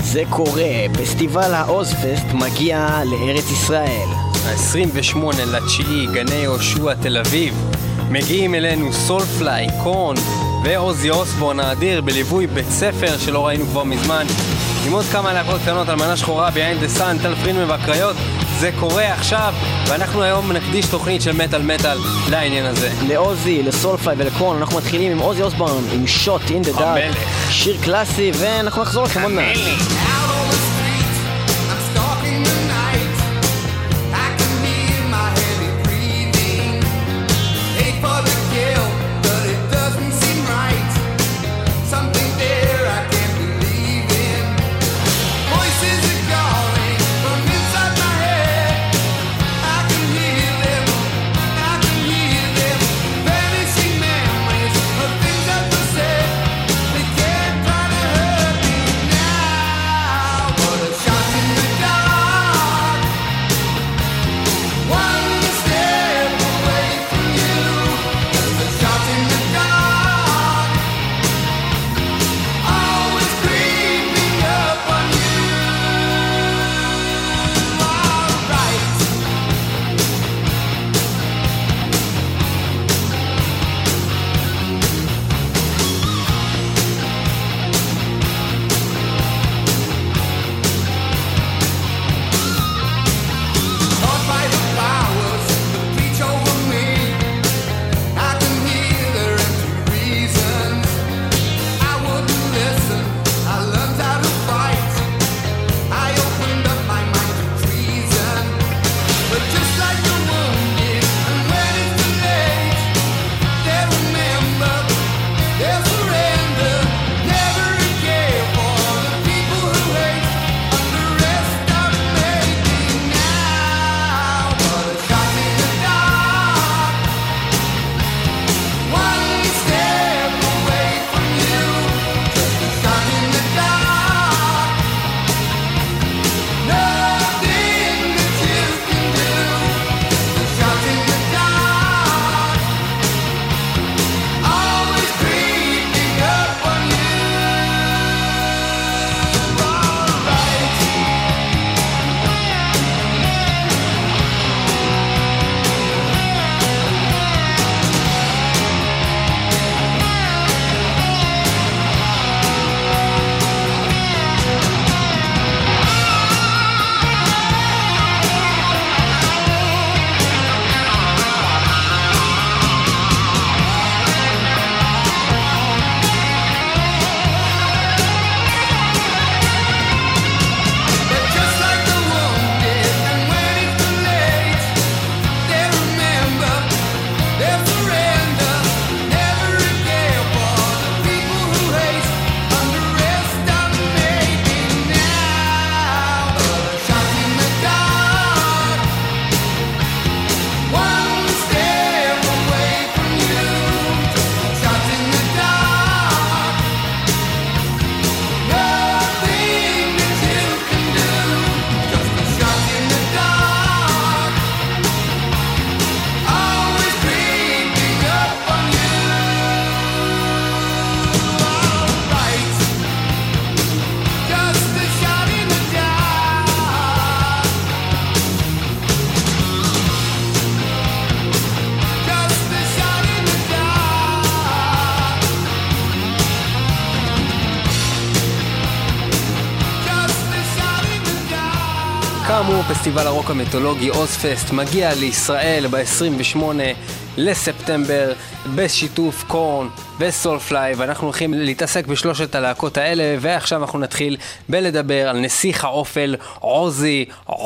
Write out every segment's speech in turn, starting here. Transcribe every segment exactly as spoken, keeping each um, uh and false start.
זה קורה, פסטיבל האוזפסט מגיע לארץ ישראל. ה-עשרים ושמונה לתשיעי, גני יהושע תל אביב. מגיעים אלינו סולפליי, קורן ועוזי אוסבורן האדיר בליווי בית ספר שלא ראינו כבר מזמן, עם עוד כמה להקות קטנות על מנה שחורה, ביינד דה סאן, טל פרידמן והקריות. זה קורה עכשיו, ואנחנו היום נקדיש תוכנית של מטל מטל לעניין הזה. לעוזי, לסולפליי ולקורן. אנחנו מתחילים עם עוזי אוסבורן עם שוט אין דה דארק, שיר קלאסי, ואנחנו נחזור לכם עוד מעט. כאמור, פסטיבל הרוק המיתולוגי אוזפסט מגיע לישראל ב-עשרים ושמונה לספטמבר בשיתוף קורן וסולפליי, ואנחנו הולכים להתעסק בשלושת הלהקות האלה. ועכשיו אנחנו נתחיל בלדבר על נסיך האופל עוזי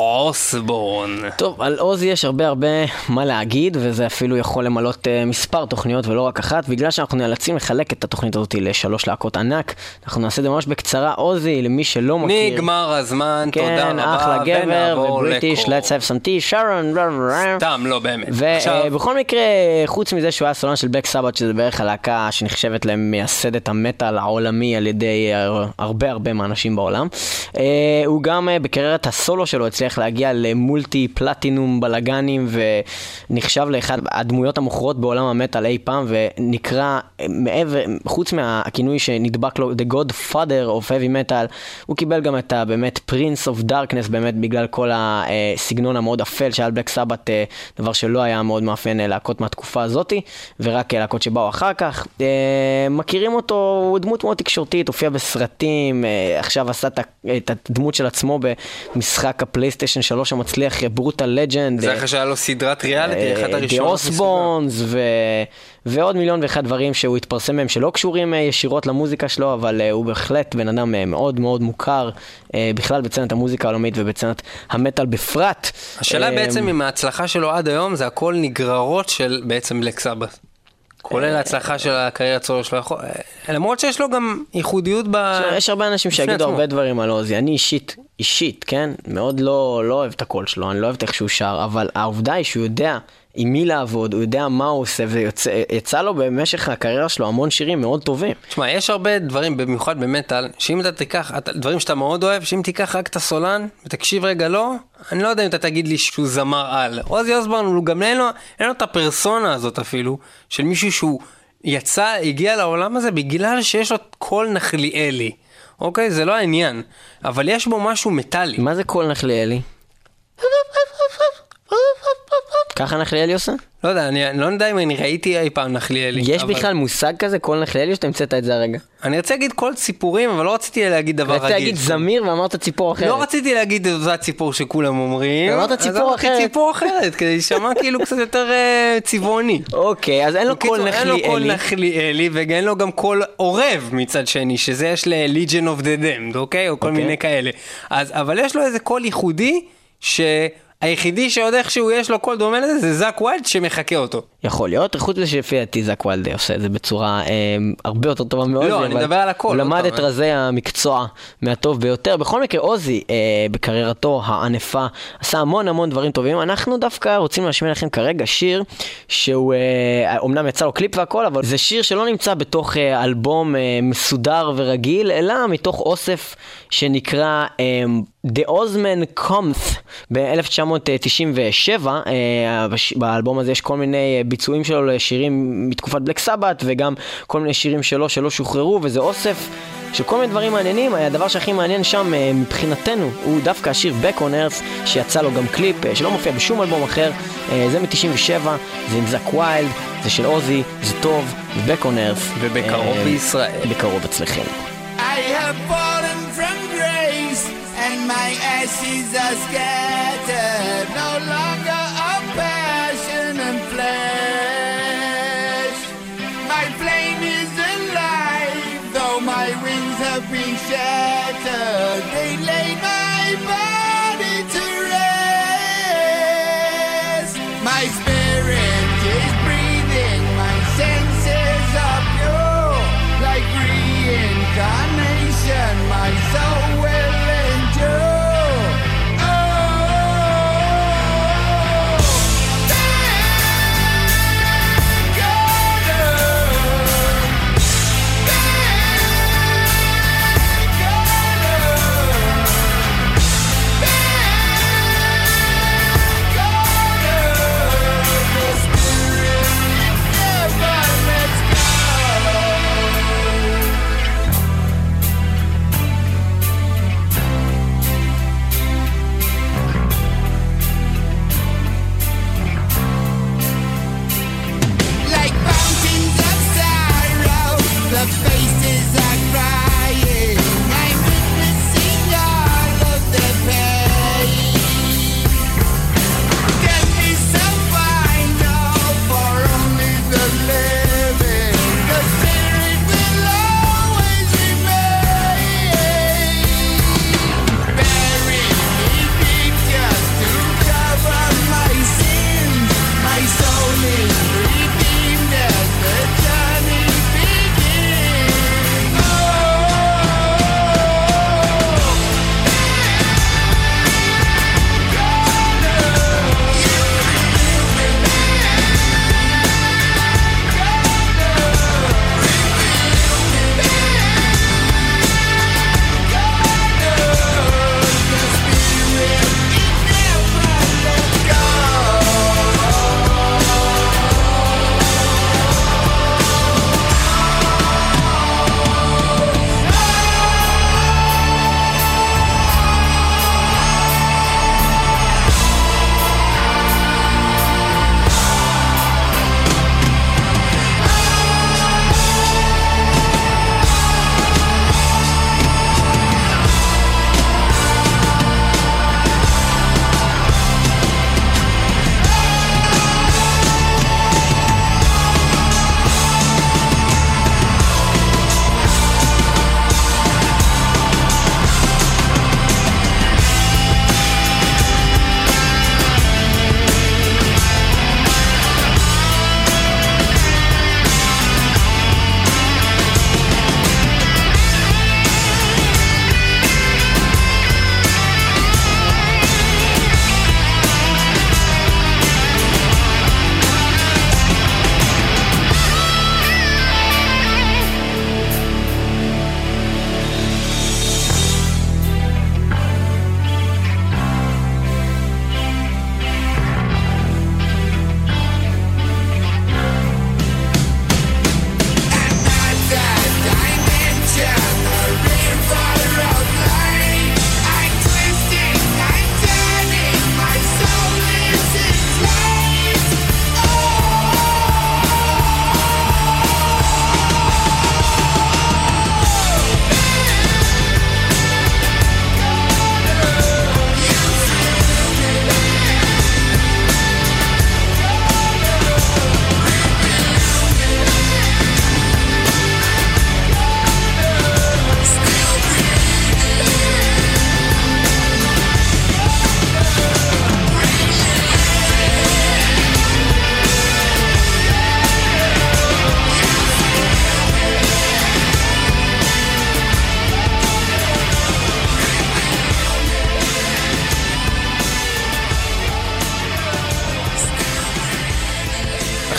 אוסבורן. טוב, על עוזי יש הרבה הרבה מה להגיד, וזה אפילו יכול למלות uh, מספר תוכניות ולא רק אחת. בגלל שאנחנו נאלצים לחלק את התוכנית הזאת לשלוש להקות ענק, אנחנו נעשה את זה ממש בקצרה. עוזי, למי שלא מכיר, נגמר הזמן, כן, תודה רבה. אחלה גבר ובריטיש, let's have some tea, שרון, סתם לא באמת. ובכל מקרה, חוץ מזה שהוא היה סולן של של בלק סבת, שזה בערך הלהקה שנחשבת למייסדת המטל העולמי על ידי הרבה הרבה מהאנשים בעולם. הוא גם בקריירת הסולו שלו הצליח להגיע למולטי פלטינום בלגנים, ונחשב לאחד הדמויות המוכרות בעולם המטל אי פעם, ונקרא מעבר, חוץ מהכינוי שנדבק לו The Godfather of Heavy Metal, הוא קיבל גם את באמת Prince of Darkness, באמת בגלל כל הסגנון המאוד אפל שהיה בלק סבת, דבר שלא היה מאוד מאפיין להקות מהתקופה הזאת, ורק להקות שבאו אחר כך. מכירים אותו, הוא דמות מאוד תקשורתית, הופיע בסרטים, עכשיו עשה את הדמות של עצמו במשחק הפלייסטיישן שלוש המצליח, ברוטל לג'נד. זה אחרי שהיה לו סדרת ריאליטי, אחד הראשון. די אוסבונס, ועוד מיליון ואחד דברים שהוא התפרסם מהם שלא קשורים ישירות למוזיקה שלו, אבל הוא בהחלט בן אדם מאוד מאוד מוכר, בכלל בצנת המוזיקה העולמית ובצנת המטל בפרט. השאלה בעצם אם ההצלחה שלו עד היום זה הכל נגררות של בעצם בלק סבת. כולל ההצלחה של הקריירה סולו שלו, למרות שיש לו גם ייחודיות ב... יש הרבה אנשים שיגידו הרבה דברים על עוזי, אני אישית, אישית, כן? מאוד לא אוהב את הקול שלו, אני לא אוהב איך שהוא שר, אבל העובדה היא שהוא יודע עם מי לעבוד, הוא יודע מה הוא עושה, ויצא לו במשך הקריירה שלו המון שירים מאוד טובים. תשמע, יש הרבה דברים, במיוחד במטל, שאם אתה תיקח, דברים שאתה מאוד אוהב, שאם תיקח רק את הסולן, ותקשיב רגע לא, אני לא יודע אם אתה תגיד לי שהוא זמר על. עוזי אוסבורן, הוא גם אין לו, אין לו את הפרסונה הזאת אפילו, של מישהו שהוא יצא, הגיע לעולם הזה, בגלל שיש לו קול נחליאלי. אוקיי? זה לא העניין. אבל יש בו משהו מטלי. מה זה קול נחליאלי? ככה נחליאלי עושה? לא יודע, אני, אני לא יודע אם אני ראיתי אי פעם נחליאלי. יש אבל... בכלל מושג כזה, קול נחליאלי, או שאתה המצאת את זה הרגע? אני רציתי להגיד קול ציפורים, אבל לא רציתי להגיד דבר רגיל. רציתי להגיד זמיר ואמרת ציפור אחרת. לא רציתי להגיד את אותה ציפור שכולם אומרים. אמרת ציפור אחרת. אז אמרתי ציפור אחרת, כדי לשמע כאילו קצת יותר uh, צבעוני. אוקיי, אז אין לו קול נחליאלי. אין לו קול נחליאלי, ואין לו גם קול עורב מצד שני, שזה יש ל-Legion of the Damned, אוקיי? או כל מיני כאלה. אז, אבל יש לו איזה קול ייחודי, ש... היחידי שעוד איכשהו יש לו קול דומה לזה, זה זאק ויילד שמחכה אותו. יכול להיות, חוץ מזה שלפי דעתי זאק ויילד עושה את זה בצורה אה, הרבה יותר טובה מאוד. לא, אני מדבר על הקול. הוא למד את רזי המקצוע מהטוב ביותר. בכל מקרה, עוזי אה, בקריירתו הענפה עשה המון המון דברים טובים. אנחנו דווקא רוצים להשמיע לכם כרגע שיר שהוא, אה, אומנם יצא לו קליפ והכל, אבל זה שיר שלא נמצא בתוך אה, אלבום אה, מסודר ורגיל, אלא מתוך אוסף שנקרא אה, The Ozman Cometh ב-אלף תשע מאות תשעים ושבע. באלבום הזה יש כל מיני ביצועים שלו לשירים מתקופת בלק סבת, וגם כל מיני שירים שלו שלא שוחררו, וזה אוסף של כל מיני דברים מעניינים. הדבר שהכי מעניין שם מבחינתנו הוא דווקא השיר Back on Earth, שיצא לו גם קליפ שלא מופיע בשום אלבום אחר. זה מ-תשעים ושבע, זה עם זאק ויילד, זה של עוזי, זה טוב, Back on Earth, ובקרוב בישראל, בקרוב אצלכם. I have fallen from grace and my ashes are scattered, no longer of passion and flesh. My flame is alive, though my wings have been shattered. They lay my body to rest. My spirit is breathing, my senses are pure, like reincarnation. My soul will endure.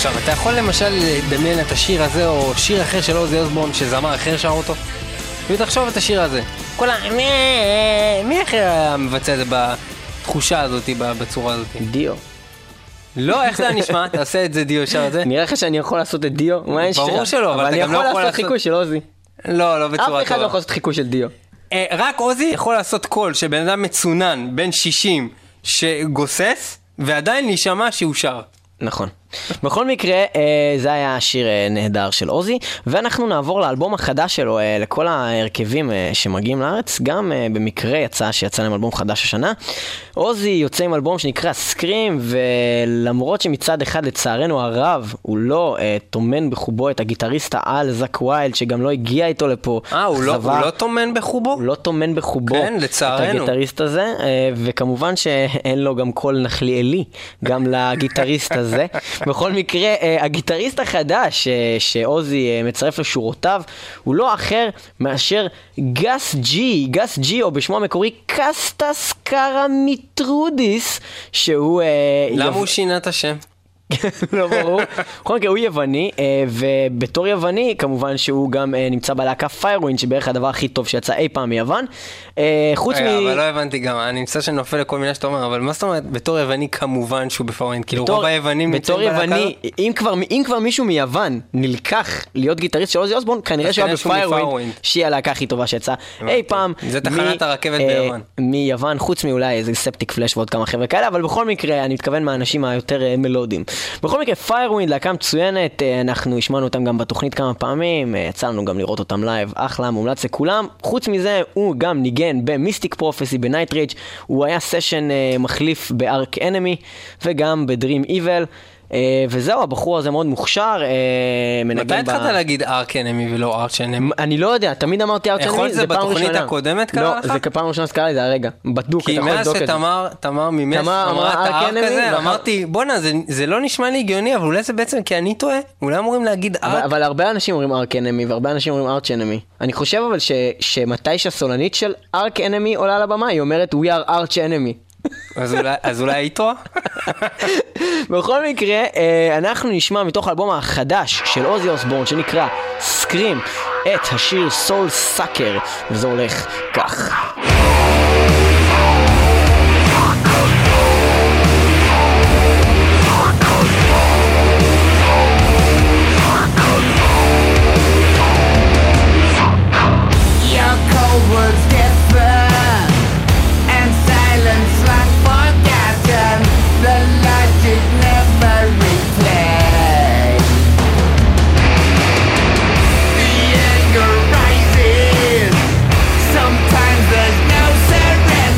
עכשיו, אתה יכול למשל לדמיין את השיר הזה, או שיר אחר של עוזי אוסבורן, שזמר אחר שר אותו? ותחשוב את השיר הזה. כל ה... מי אחר מבצע את זה בתחושה הזאת, בצורה הזאת? דיו. לא, איך זה נשמע? תעשה את זה דיו שר את זה. נראה לך שאני יכול לעשות את דיו? ברור שלא, אבל אתה גם לא יכול לעשות... אני יכול לעשות חיקוי של עוזי. לא, לא בצורה טובה. אף אחד לא יכול לעשות חיקוי של דיו. רק עוזי יכול לעשות קול שבן אדם מצונן בין שישים שגוסס, ועדיין נשמע שהוא שר. נכון. בכל מקרה, זה היה שיר נהדר של עוזי, ואנחנו נעבור לאלבום החדש שלו, לכל ההרכבים שמגיעים לארץ, גם במקרה יצא שיצא להם אלבום חדש השנה. עוזי יוצא עם אלבום שנקרא סקרים, ולמרות שמצד אחד לצערנו הרב, הוא לא תומן בחובו את הגיטריסט העל זק ויילד, שגם לא הגיע איתו לפה. אה, הוא לא תומן בחובו? הוא לא תומן בחובו את הגיטריסט הזה, וכמובן שאין לו גם קול נחליאלי, גם לגיטריסט הזה. בכל מקרה, הגיטריסט החדש שעוזי מצרף לשורותיו הוא לא אחר מאשר גס ג'י, גס ג'י, או בשמו המקורי קסטס קרמיטרודיס, שהוא... למה הוא שינה את השם? לא ברור. בכל מקרה, הוא יווני, ובתור יווני, כמובן שהוא גם נמצא בלהקה פיירווינד, שבערך הדבר הכי טוב שיצא אי פעם מיוון. חוץ מ... אבל לא הבנתי גם, אני נמצא שנופל לכל מיני שאתה אומר, אבל מה זאת אומרת, בתור יווני כמובן שהוא בפיירווינד, כאילו רוב היוונים נמצאים בלהקה? בתור יווני, אם כבר מישהו מיוון נלקח להיות גיטריסט של עוזי אוסבורן, כנראה שהוא היה בפיירווינד, שהיא הלהקה הכי טובה שיצאה אי פעם. זה תחנת הרכבת ביוון. מיוון, חוץ מאולי איזה ספטיק פלאש ועוד כמה חבר'ה כאלה, אבל בכל מקרה, אני מתכוון מהאנשים היותר מלודיים. בכל מקרה, פיירווינד, להקה מצוינת, אנחנו השמענו אותם גם בתוכנית כמה פעמים, יצא לנו גם לראות אותם לייב, אחלה, מומלץ לכולם. חוץ מזה, הוא גם ניגן במיסטיק פרופסי, בנייט ריץ', הוא היה סשן מחליף בארק אנמי, וגם בדרים איבל, וזהו, הבחור הזה מאוד מוכשר, מתי התחלת להגיד ארק אנמי ולא ארץ' אנמי? אני לא יודע, תמיד אמרתי ארץ' אנמי, זה פעם ראשונה. בתוכנית הקודמת קרה לך? לא, זה פעם ראשונה שקרה לי, זה הרגע, בדוק, כי מאז שתמר, תמר ממש אמרה את הארק הזה, אמרתי, בוא'נה, זה לא נשמע לי הגיוני, אבל אולי זה בעצם כי אני טועה, אולי אמורים להגיד ארק. אבל הרבה אנשים אומרים ארק אנמי, והרבה אנשים אומרים ארץ' אנמי. אני חושב אבל שמתי שהסולנית של ארק אנמי עולה לבמה, היא אומרת we are arch enemy. אז אולי היא טועה? בכל מקרה, אנחנו נשמע מתוך האלבום החדש של עוזי אוסבורן שנקרא סקרים את השיר סול סאקר, וזה הולך כך. Your cold was different and silence like forgotten. The logic never replayed. The anger rises. Sometimes there's no surrender.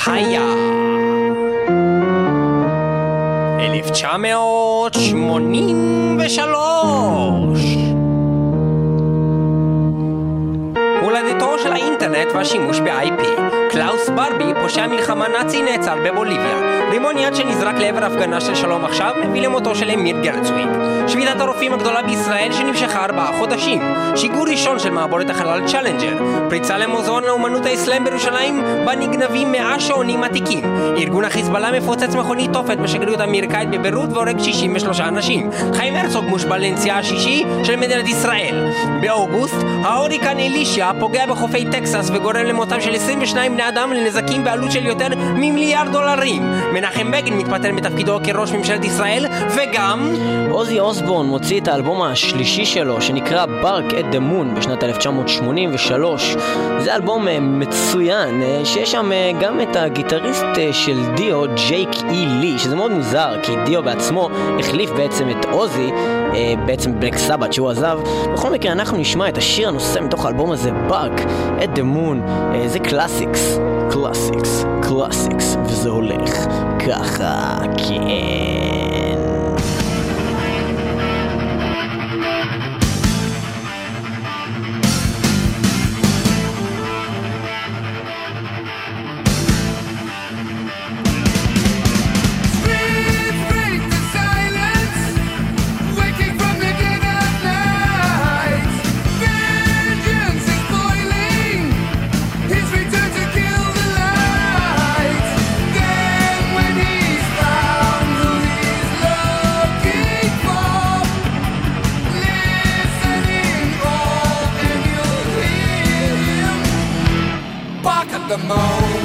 היה אלף תשע מאות שמונים ושלוש. הולדתו של האינטרנט והשימוש ב-איי פי. קלאוס ברבי, פושע מלחמה נאצי, נעצר בבוליביה. רימון יד שנזרק לעבר הפגנה של שלום עכשיו מביא למותו של אמיר גרצוויג. שביתת הרופאים הגדולה בישראל שנמשכה ארבעה חודשים. שיגור ראשון של מעבורת החלל צ'לנג'ר. פריצה למוזיאון לאומנות האסלאם בירושלים בה נגנבים מאה שעונים עתיקים. ארגון החיזבאללה מפוצץ מכונית תופת בשגרירות האמריקאית בביירות והורג שישים ושלושה אנשים. חיים הרצוג מושבע לנשיאה השישי של מדינת ישראל. באוגוסט ההוריקן אלישיה פוגע בחופי טקסס וגורם למותם של עשרים ושניים בני אדם לנזקים בעלות של יותר ממיליארד דולרים. מנחם בגין מתפטר מתפקידו כראש ממשלת ישראל, וגם עוזי אוסבורן מוציא את האלבום השלישי שלו שנקרא Bark at the Moon בשנת אלף תשע מאות שמונים ושלוש. זה אלבום מצוין שיש שם גם את הגיטריסט של דיו, ג'ייק אי לי, שזה מאוד מוזר כי דיו בעצמו החליף בעצם את עוזי, בעצם בלק סבת שהוא עזב. בכל מקרה אנחנו נשמע את השיר הנושא מתוך האלבום הזה, Bark at the Moon. זה קלאסיקס, קלאסיקס, קלאסיקס, וזה הולך ככה, כן. The moon.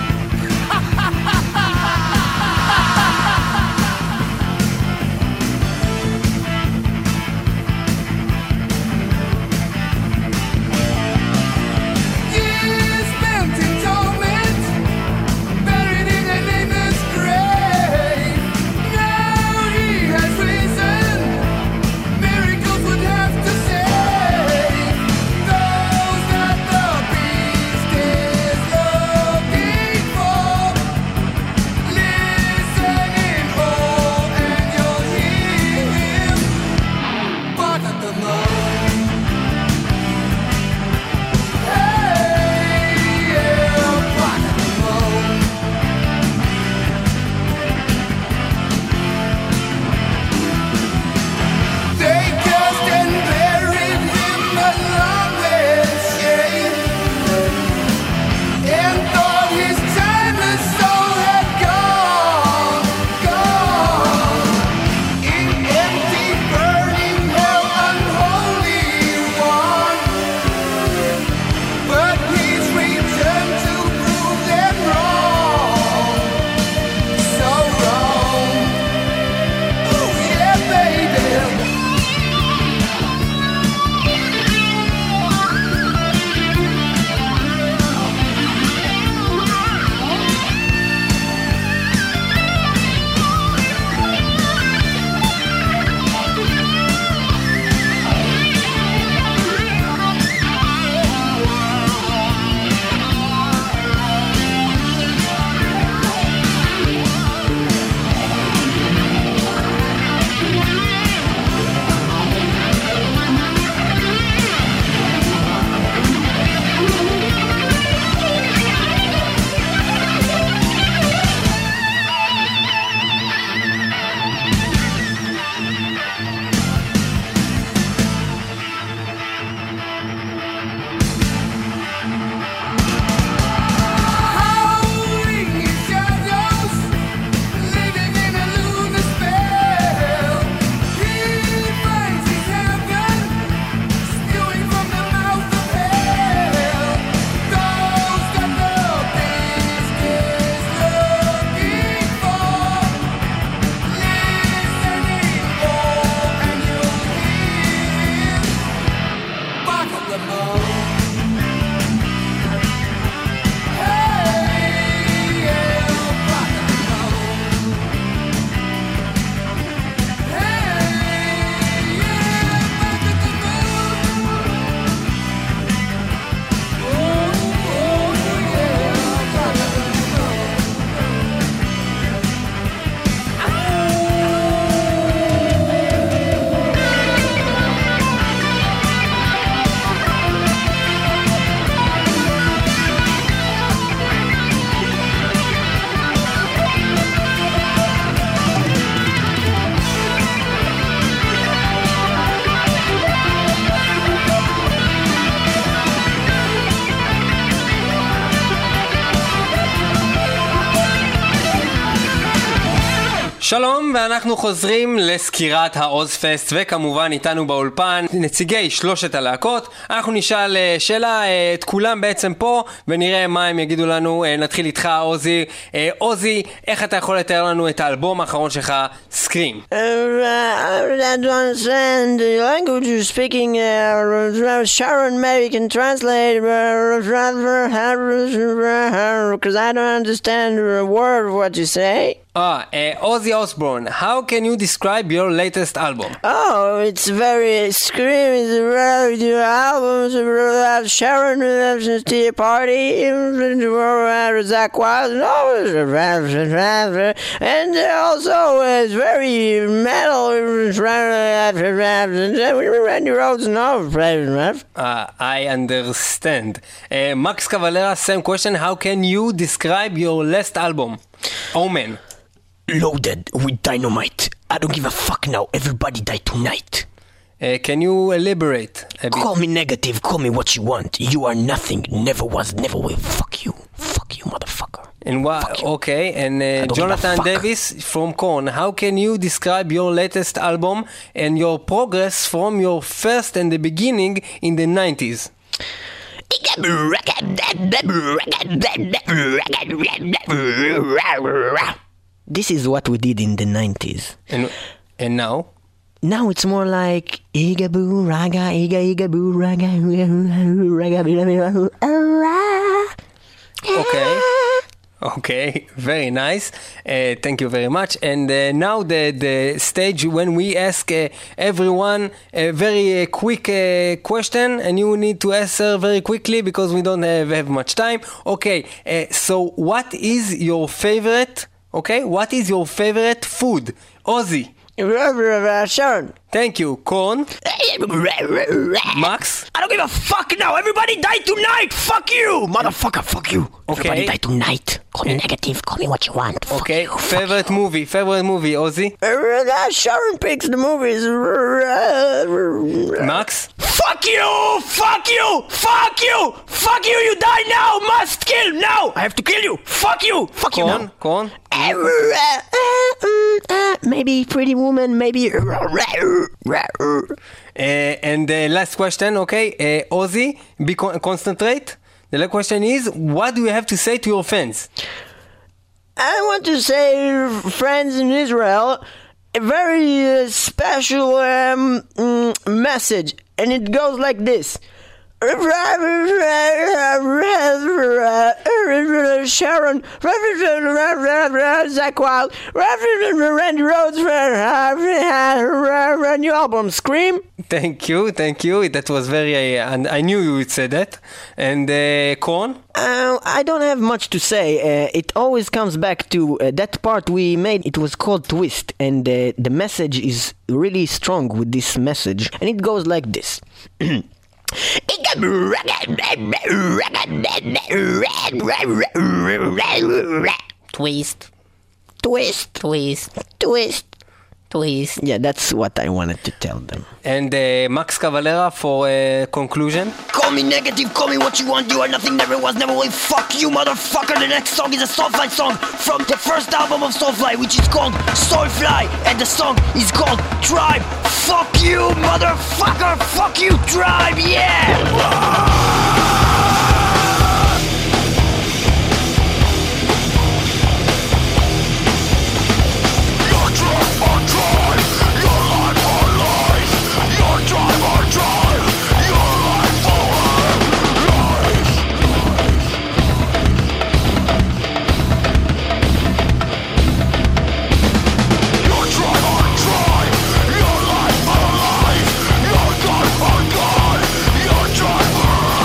Years spent in torment, buried in a nameless grave. Now he has risen, miracles would have to save those that the beast is looking שלום, ואנחנו חוזרים לסקירת האוזפסט, וכמובן איתנו באולפן נציגי שלושת הלהקות. אנחנו נשאל שאלה את כולם בעצם פה, ונראה מה הם יגידו לנו. נתחיל איתך, עוזי. עוזי, איך אתה יכול לתאר לנו את האלבום האחרון שלך, סקרים? I don't understand the language you're speaking. Sharon, maybe can translate, because I don't understand a word of what you say. Ah, uh, Ozzy Osbourne, how can you describe your latest album? Oh, it's very screaming. Your albums, Sharon, Tea Party, Zach Wild, and also it's very metal. Randy Rhoads, no. Uh, I understand. Uh, Max Cavalera, same question. How can you describe your last album? Omen. Loaded with dynamite. I don't give a fuck now. Everybody die tonight. Uh, can you elaborate a bit? Call me negative. Call me what you want. You are nothing. Never was, never will. Fuck you. Fuck you, motherfucker. And what? Okay. And uh, Jonathan Davis from Korn. How can you describe your latest album and your progress from your first and the beginning in the nineties? This is what we did in the nineties. And and now? Now it's more like Igaboo raga, iga igaboo raga, raga, Okay. Okay, very nice. Uh, thank you very much. And uh, now the the stage when we ask uh, everyone a very uh, quick uh, question, and you need to answer very quickly because we don't have, have much time. Okay, uh, so what is your favorite? Okay, what is your favorite food? Ozzy. Sharon. Thank you. Korn. Max. I don't give a fuck now. Everybody die tonight. Fuck you, motherfucker. Fuck you. Okay. Everybody die tonight. Call me negative. Call me what you want. Fuck Okay. you. Favorite movie. Favorite movie. Ozzy. Sharon picks the movies. Max. Fuck you! Fuck you! Fuck you! Fuck you! You die now! Must kill now! I have to kill you! Fuck you! Fuck you Korn. now! Korn. Maybe Pretty Woman, maybe... Uh, and the last question, okay, uh, Ozzy, be con- concentrate. The last question is, what do you have to say to your fans? I want to say, friends in Israel, a very uh, special um, mm, message, and it goes like this. Sharon, Zach Wild, Randy Rhoads, new album, Scream. Thank you, thank you. That was very, uh, and I knew you would say that. And uh, Korn? Uh, I don't have much to say. Uh, it always comes back to uh, that part we made. It was called Twist, and uh, the message is really strong with this message, and it goes like this. Twist. Twist, Twist. twist. Twist. Yeah, that's what I wanted to tell them. And uh, Max Cavalera for uh, conclusion. Call me negative, call me what you want. You are nothing, never was, never will. Fuck you, motherfucker. The next song is a Soulfly song from the first album of Soulfly, which is called Soulfly, and the song is called Tribe. Fuck you, motherfucker. Fuck you, Tribe. Yeah. Your drive or die, your drive or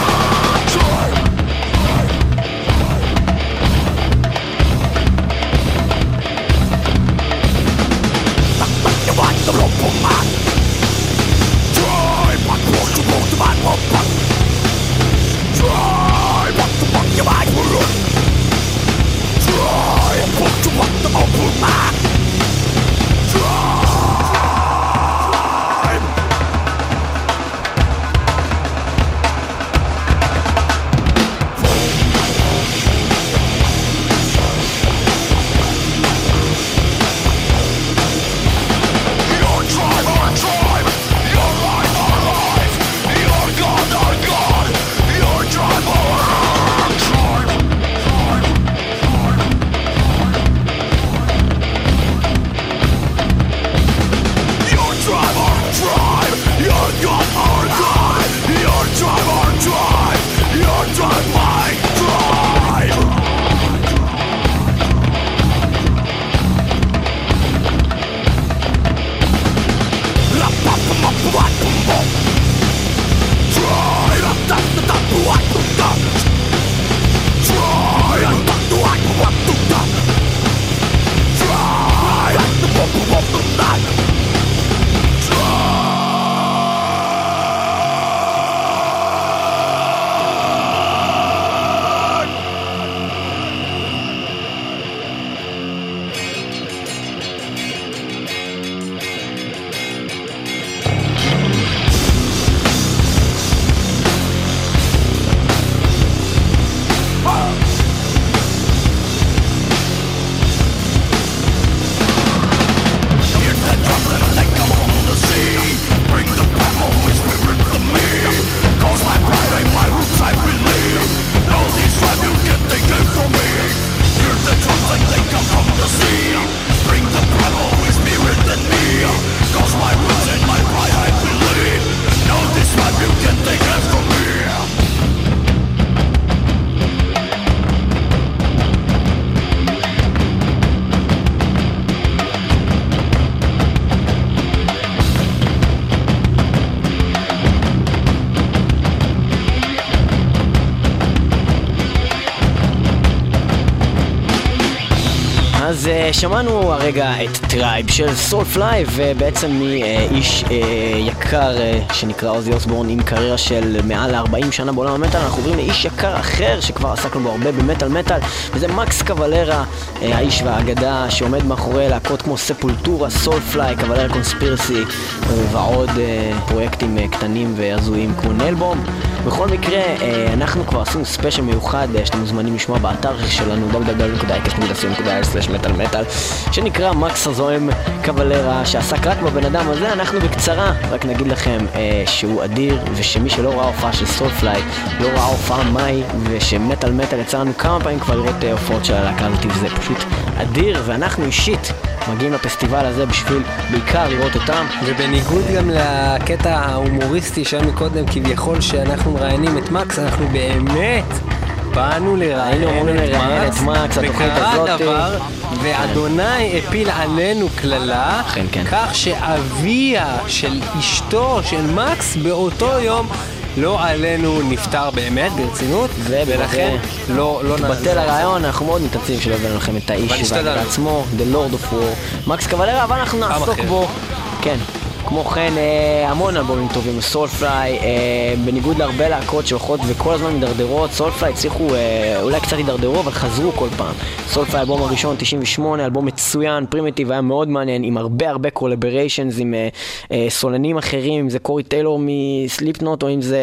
אז uh, שמענו הרגע את טרייב של סולפליי, ובעצם מאיש uh, uh, יקר uh, שנקרא עוזי אוסבורן עם קריירה של מעל ארבעים שנה בעולם המטל, אנחנו עוברים לאיש יקר אחר שכבר עסקנו בו הרבה במטל מטל, וזה מקס קבלרה, uh, האיש והאגדה שעומד מאחורי להקות כמו ספולטורה, סולפליי, קבלרה קונספירסי uh, ועוד uh, פרויקטים uh, קטנים והזויים כמו נלבום. בכל מקרה, אנחנו כבר עשינו ספיישל מיוחד שאתם מוזמנים לשמוע באתר שלנו דאבליו דאבליו דאבליו נקודה אייקס נקודה סי או נקודה איי אל סלאש מטל מטל, שנקרא מקס הזוהם קבלרה, שעסק רק בבן אדם הזה. אנחנו בקצרה רק נגיד לכם שהוא אדיר, ושמי שלא ראה הופעה של סולפליי לא ראה הופעה מאי, ושמטל מטל יצא לנו כמה פעמים כבר לראות הופעות של הלהקה הזאת, וזה פשוט אדיר, ואנחנו אישית מגיעים לפסטיבל הזה בשביל בעיקר לראות אותם. ובניגוד גם לקטע ההומוריסטי שלנו קודם, כביכול שאנחנו מראיינים את מקס, אנחנו באמת באנו לראיין את מקס, וקרה דבר, ואדוני הפיל עלינו כללה, כך שאביה של אשתו של מקס באותו יום לא עלינו נפטר באמת, ברצינות, ולכן לא נתבטל הרעיון. אנחנו מאוד מתעצים שלא הבאנו לכם את האיש בעצמו, The Lord of War, מקס קבלרה, אבל אנחנו נעסוק בו, כן. כמו כן, המון אלבומים טובים, סולפליי, בניגוד להרבה להקות שהולכות וכל הזמן מדרדרות, סולפליי הצליחו, אולי קצת ידרדרו, אבל חזרו כל פעם. סולפליי, אלבום הראשון, תשעים ושמונה, אלבום מצוין, פרימיטיב, היה מאוד מעניין, עם הרבה הרבה קולבריישנס, עם סולנים אחרים, אם זה קורי טיילור מסליפנוט, או אם זה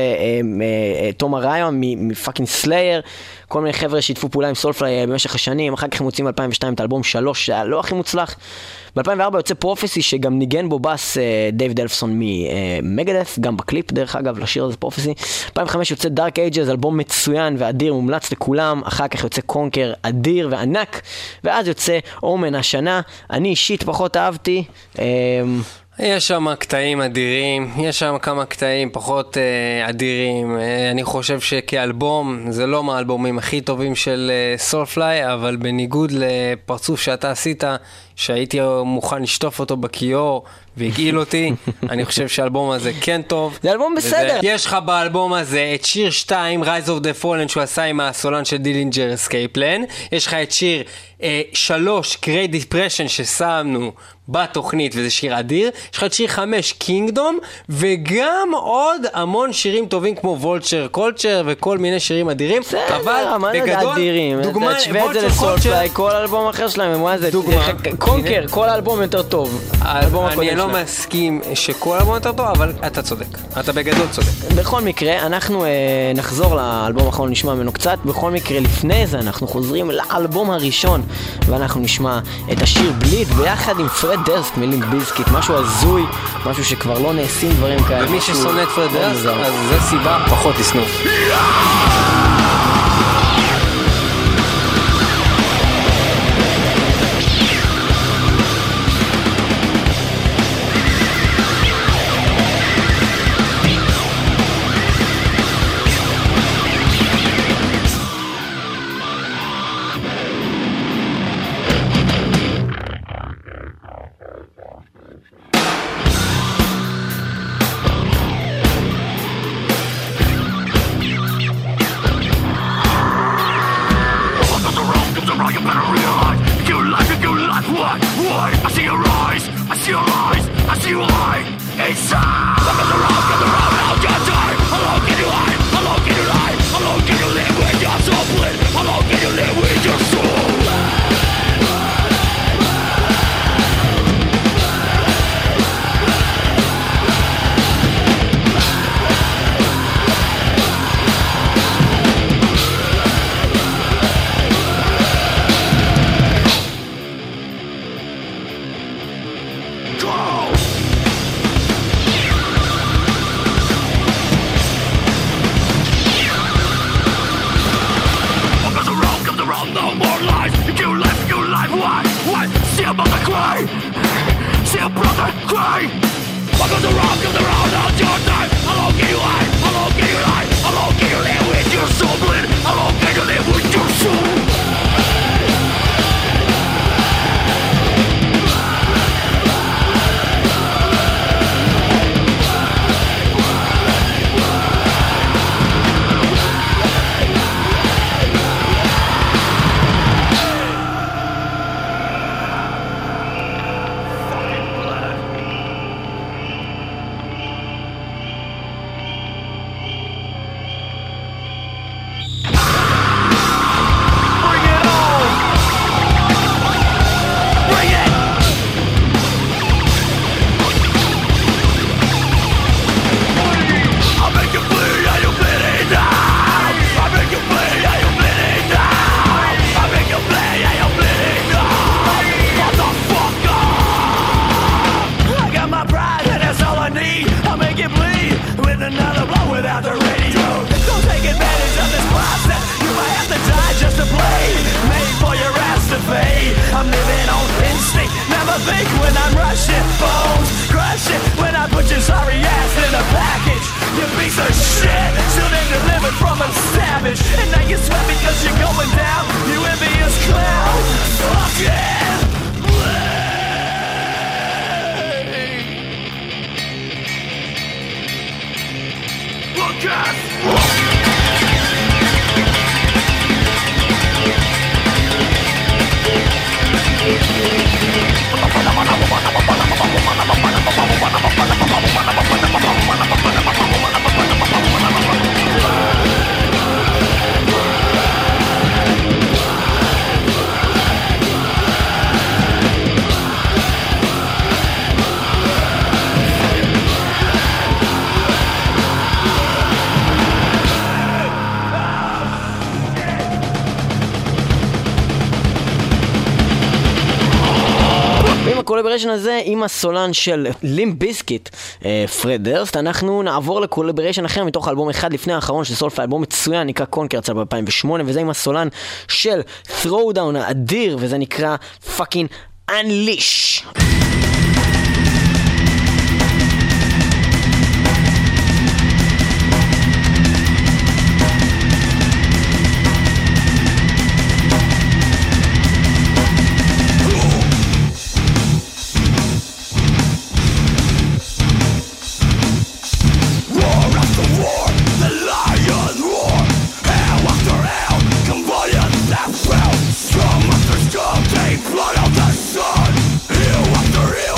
תום אריון מפאקינג סלייר, כל מיני חבר'ה שהתפו פעולה עם סולפליי במשך השנים. אחר כך הם מוצאים ב-אלפיים ושתיים את האלבום שלוש, שהיה לא הכי מוצלח. ב-אלפיים וארבע יוצא פרופסי, שגם ניגן בו בס דייב דלפסון ממגדף, גם בקליפ דרך אגב לשיר הזה פרופסי. אלפיים וחמש יוצא דארק אייג'ז, אלבום מצוין ואדיר, מומלץ לכולם. אחר כך יוצא קונקר, אדיר וענק, ואז יוצא אומן השנה. אני אישית פחות אהבתי. יש שם קטעים אדירים, יש שם כמה קטעים פחות אה, אדירים. אה, אני חושב שכאלבום זה לא מהאלבומים הכי טובים של אה, סולפליי, אבל בניגוד לפרצוף שאתה עשית, שהייתי מוכן לשטוף אותו בכיור והגעיל אותי, אני חושב שהאלבום הזה כן טוב. זה אלבום בסדר. יש לך באלבום הזה את שיר שתיים, Rise of the Fallen, שהוא עשה עם הסולן של דילינג'ר Escape Plan. יש לך את שיר אה, שלוש, Great Depression, ששמנו בתוכנית, וזה שיר אדיר. יש לך את שיר חמש, Kingdom, וגם עוד המון שירים טובים כמו Vulture Culture וכל מיני שירים אדירים. אבל בגדול, דוגמה, Vulture Culture, כל אלבום אחר שלהם, מה זה? קונקר, כל האלבום יותר טוב. אני לא מסכים שכל האלבום יותר טוב, אבל אתה צודק. אתה בגדול צודק. בכל מקרה, אנחנו נחזור לאלבום האחרון, נשמע ממנו קצת. בכל מקרה, לפני זה אנחנו חוזרים לאלבום הראשון, ואנחנו נשמע את השיר בליד ביחד עם פרד דרסט מלינק ביזקיט, משהו הזוי, משהו שכבר לא נעשים דברים כאלה. ומי ששונא את פרד דרסט, אז זה סיבה פחות לשנוא. think when I'm rushing, bones crushing, when I put your sorry ass in a package. You piece of shit, should have delivered from a savage. And now you sweat because you're going down, you envious clown. Fuck it! Look at הקולבריישן הזה עם הסולן של לימפ ביזקיט, פרד דרסט. אנחנו נעבור לקולבריישן אחר מתוך האלבום אחד לפני האחרון של סולפליי, אלבום מצוין, נקרא קונקר, יצא ב-אלפיים ושמונה, וזה עם הסולן של Throwdown האדיר, וזה נקרא Fucking Unleash. Blood of the sun, you after him.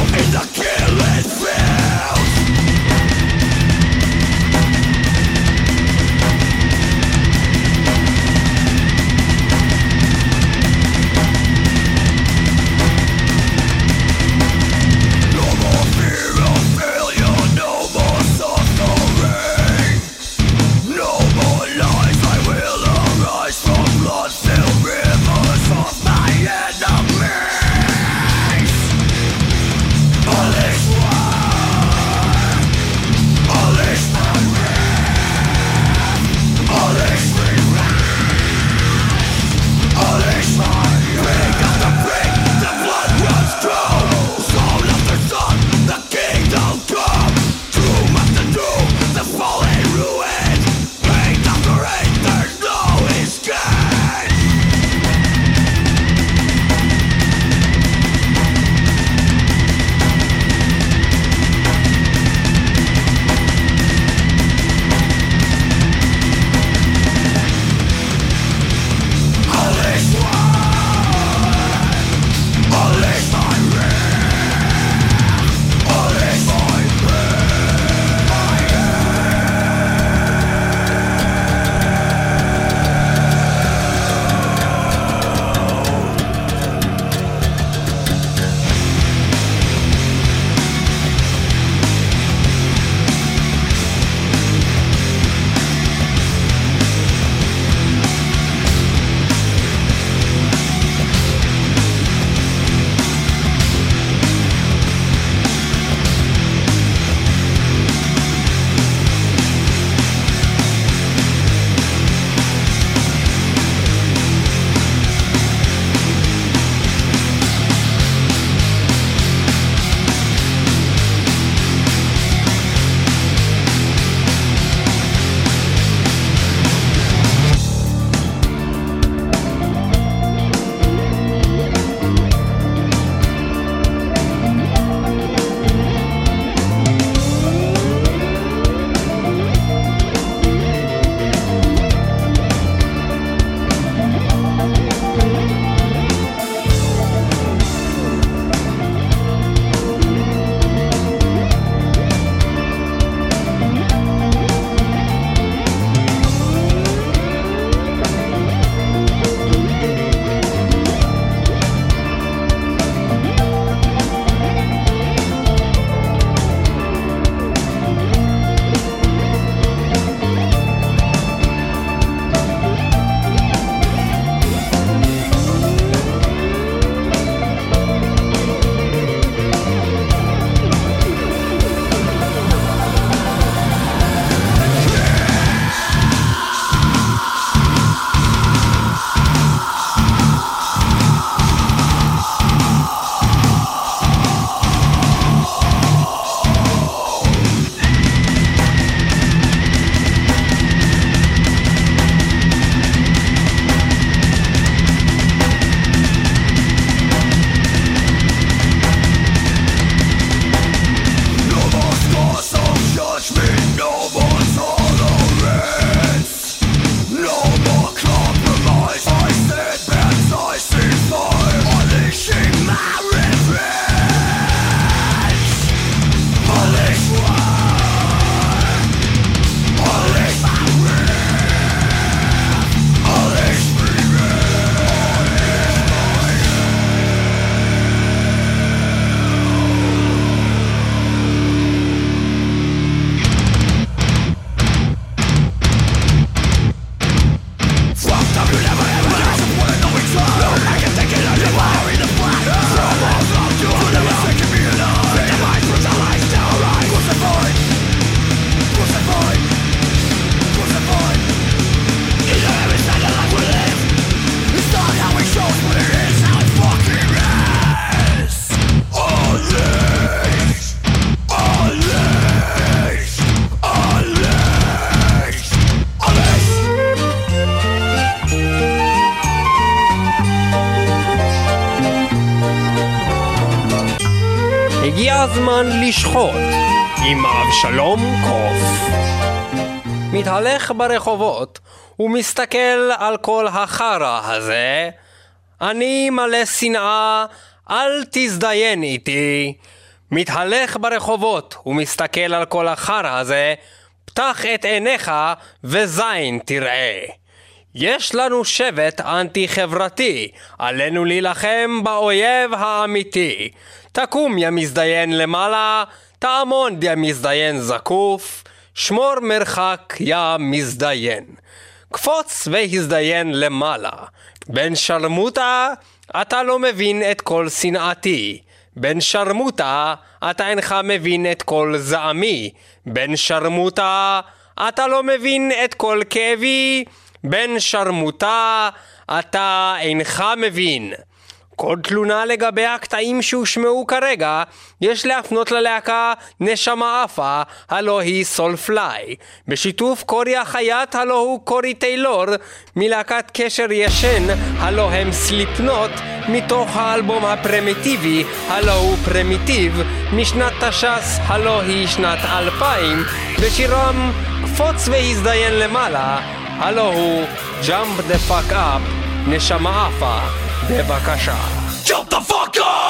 הגיע הזמן לשחוט עם אבשלום קוף. מתהלך ברחובות ומסתכל על כל החרא הזה. אני מלא שנאה, אל תזדיין איתי. מתהלך ברחובות ומסתכל על כל החרא הזה. פתח את עיניך וזין תראה. יש לנו שבט אנטי חברתי, עלינו להילחם באויב האמיתי. תקום יא מזדיין למעלה, תעמוד יא מזדיין זקוף, שמור מרחק יא מזדיין. קפוץ והזדיין למעלה. בן שרמוטה, אתה לא מבין את כל שנאתי. בן שרמוטה, אתה אינך מבין את כל זעמי. בן שרמוטה, אתה לא מבין את כל כאבי. בן שרמוטה, אתה אינך מבין. כל תלונה לגבי הקטעים שהושמעו כרגע, יש להפנות ללהקה נשמה אפה, הלא היא סולפליי. בשיתוף קורי החייט, הלא הוא קורי טיילור, מלהקת קשר ישן, הלא הם סליפנוט, מתוך האלבום הפרימיטיבי, הלא הוא פרימיטיב, משנת תש"ס, הלא היא שנת אלפיים, בשירם קפוץ והזדיין למעלה, הלא הוא Jump the fuck up, נשמה אפה. בבקשה. Jump the fuck up!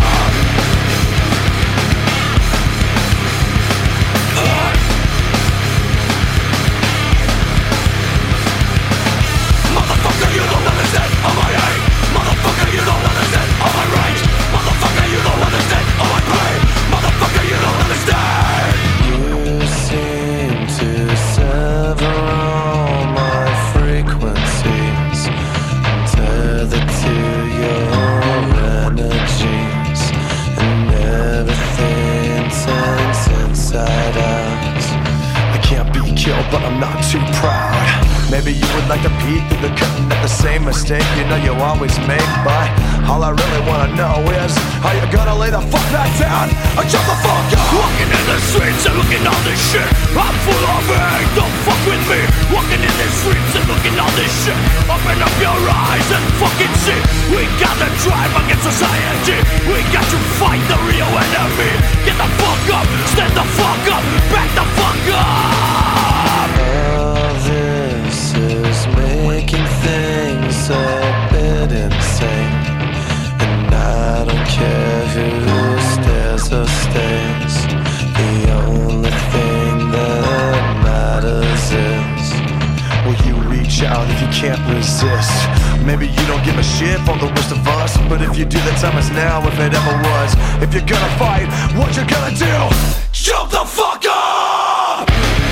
Motherfucker, you don't understand all my hate. Motherfucker, you don't understand all my rage. Motherfucker, you don't understand all my pain. Motherfucker, you don't understand. You seem to sever all my frequencies and tether to your energies, and everything turns inside out. I can't be killed, but I'm not too proud. Maybe you would like to peek through the curtain at the same mistake you know you always make, but all I really wanna know is how you gonna lay the fuck back down or jump the fuck up. Walking in the streets and looking all this shit, I'm full of hate, don't fuck with me. Walking in the streets and looking all this shit, open up your eyes and fucking see. We got the drive against society, we got to fight the real enemy. Get the fuck up, stand the fuck up, back the fuck up. All this is making things a bit insane, and I don't care who stares or stays. The only thing that matters is, will you reach out if you can't resist? Maybe you don't give a shit for the rest of us, but if you do, the time is now if it ever was. If you're gonna fight, what you gonna do? Jump the fuck up!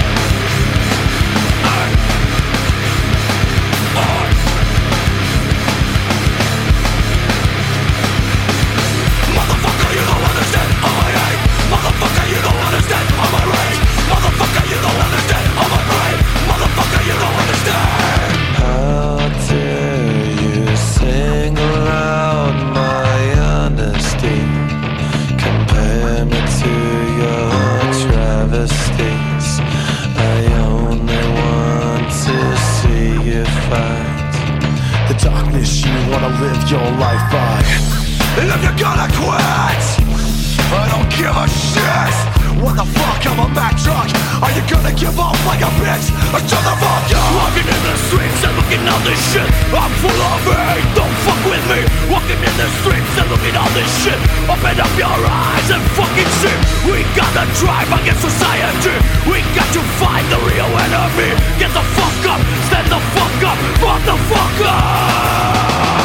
Motherfucker, you don't understand all my hate. Motherfucker, you don't understand all my rage. Motherfucker, you don't understand all my pain. Motherfucker, you don't understand. how dare you single out my honesty, compare me to your travesties. I only want to see you fight The darkness you wanna live your life by. And if you're gonna quit, I don't give a shit. What the fuck, I'm a Mack truck. Are you gonna give up like a bitch or shut the fuck up? Walking in the streets and looking all this shit, I'm full of hate, don't fuck with me. Walking in the streets and looking all this shit, open up your eyes and fucking see. We got the drive against society, we got to fight the real enemy. Get the fuck up, stand the fuck up, fuck the fuck up.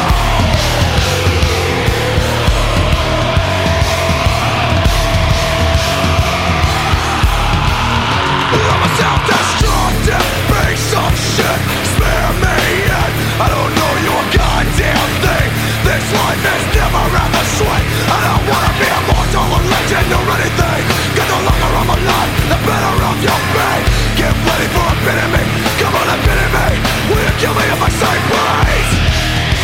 I'm a self-destructive piece of shit. Spare me in, I don't know your goddamn thing. This life is never ever sweet. I don't wanna be immortal or legend or anything. Cause the longer I'm alive, the better off you'll be. Get ready for a bit of me, come on a bit of me. Will you kill me if I say please?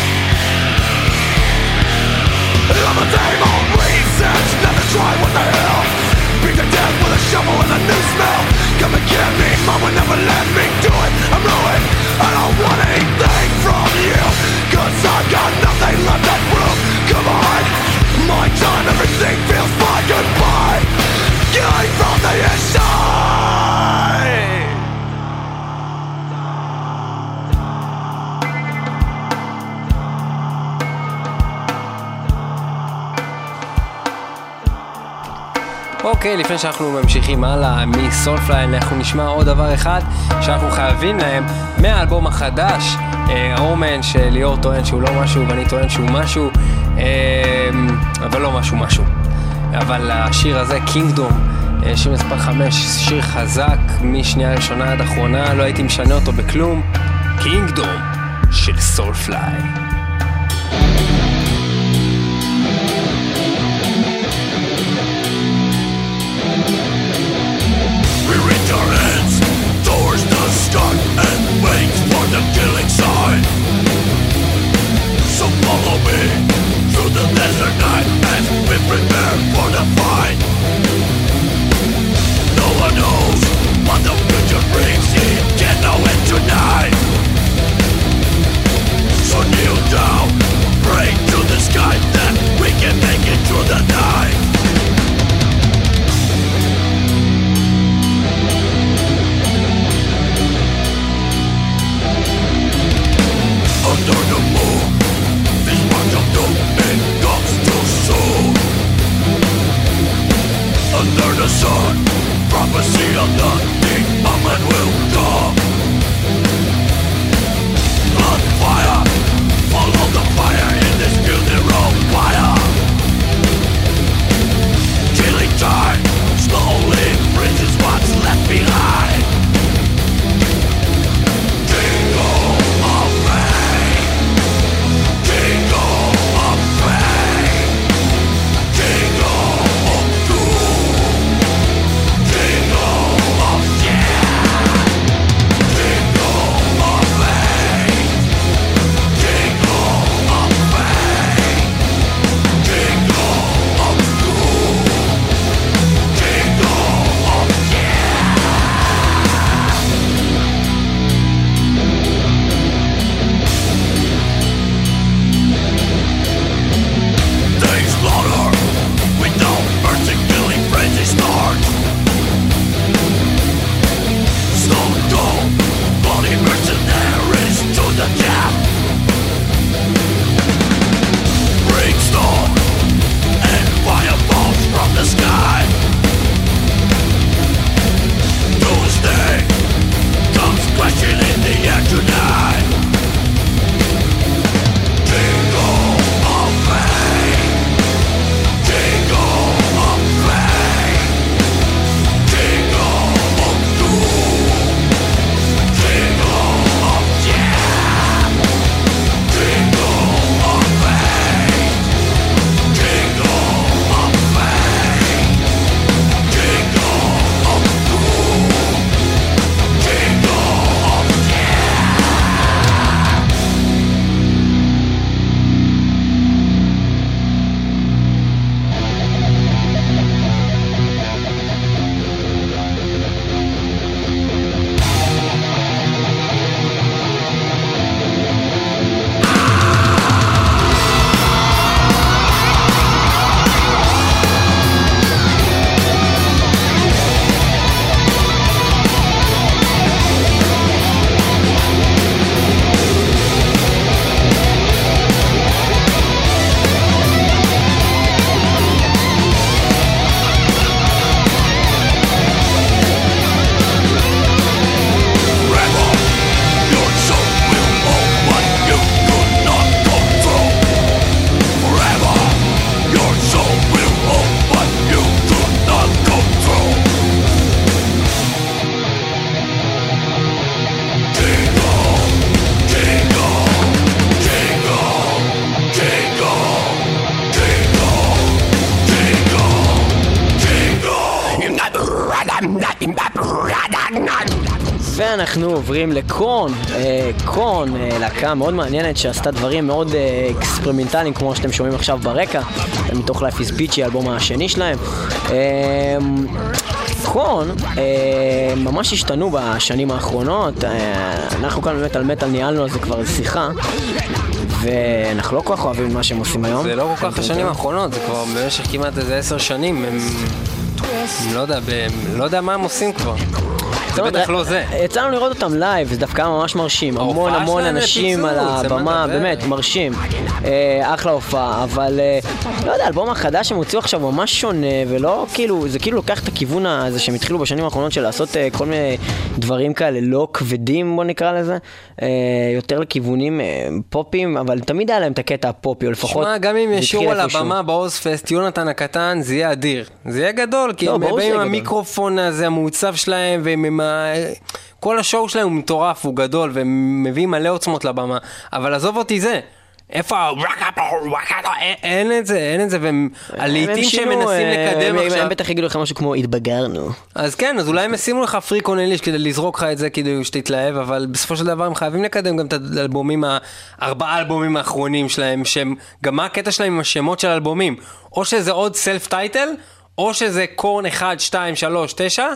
אוקיי, לפני שאנחנו ממשיכים הלאה מסולפליי, אנחנו נשמע עוד דבר אחד שאנחנו חייבים להם מהאלבום החדש, אומן, שליאור טוען שהוא לא משהו ואני טוען שהוא משהו, אבל לא משהו משהו. אבל השיר הזה, קינגדום, שיר מספר חמש, שיר חזק משנייה ראשונה עד אחרונה, לא הייתי משנה אותו בכלום. קינגדום של סולפליי. We reach our hands towards the sky and wait for the killing sign. So follow me through the desert night as we prepare for the fight. No one knows what the future brings, it can know it tonight. So kneel down, pray to the sky that we can make it through the night. Under the moon, this march of doom, it comes too soon. Under the sun, prophecy of nothing, a man will come. Blood fire, follow the fire in this funeral fire. Killing time, slowly freezes what's left behind. Jingle of rain, jingle of rain, jingle of doom, jingle of death, jingle of rain, jingle of rain, jingle of doom, jingle of they slaughter without mercy, killing frenzy starts. Stone cold, bloody mercenaries to the death. Brimstone and fireballs from the sky. Doomsday comes crashing in the air tonight. Jingle of rain, jingle of rain, jingle of doom, jingle of death, jingle of rain, jingle of rain, jingle of doom, jingle of ואנחנו עוברים לקורן, אה, קורן, אה, להקה מאוד מעניינת שעשתה דברים מאוד אה, אקספרימנטליים כמו שאתם שומעים עכשיו ברקע, מתוך Life is Bitchy, האלבום השני שלהם. אה, קורן אה, ממש השתנו בשנים האחרונות, אה, אנחנו כאן באמת על מטל ניהלנו על זה כבר שיחה, ואנחנו לא כל כך אוהבים מה שהם עושים היום. זה לא כל כך השנים האחרונות, זה כבר במשך כמעט איזה עשר שנים, הם לא יודע, ב... לא יודע מה הם עושים כבר. זה בטח לא זה. יצאנו לראות אותם לייב, זה דווקא ממש מרשים, המון המון אנשים על הבמה, באמת מרשים, אחלה הופעה, אבל לא יודע, האלבום החדש שהם הוציאו עכשיו ממש שונה, ולא כאילו, זה כאילו לוקח את הכיוון הזה שהם התחילו בשנים האחרונות של לעשות כל מיני דברים כאלה לא כבדים, בוא נקרא לזה, יותר לכיוונים פופים, אבל תמיד היה להם את הקטע הפופי, או לפחות... שמע, גם אם ישור על הבמה באוזפסט, יונתן הקטן, זה יהיה אדיר. זה יהיה גדול, כי הם באים עם המיקרופון הזה, המעוצב שלהם, ועם ה... כל השואו שלהם הוא מטורף, הוא גדול, והם מביאים מלא עוצמות לבמה. אבל עזוב אותי זה. איפה? אין את זה, אין את זה, והם הלעיתים שהם מנסים לקדם עכשיו. הם בטח יגידו לך משהו כמו, התבגרנו. אז כן, אז אולי הם ישימו לך פריק אונליש כדי לזרוק לך את זה, כדי שתתלהב, אבל בסופו של דבר הם חייבים לקדם גם את האלבומים, הארבעה אלבומים האחרונים שלהם, שהם, גם מה הקטע שלהם עם השמות של האלבומים? או שזה עוד סלף טייטל, או שזה קורן אחד, שתיים, שלוש, תשע,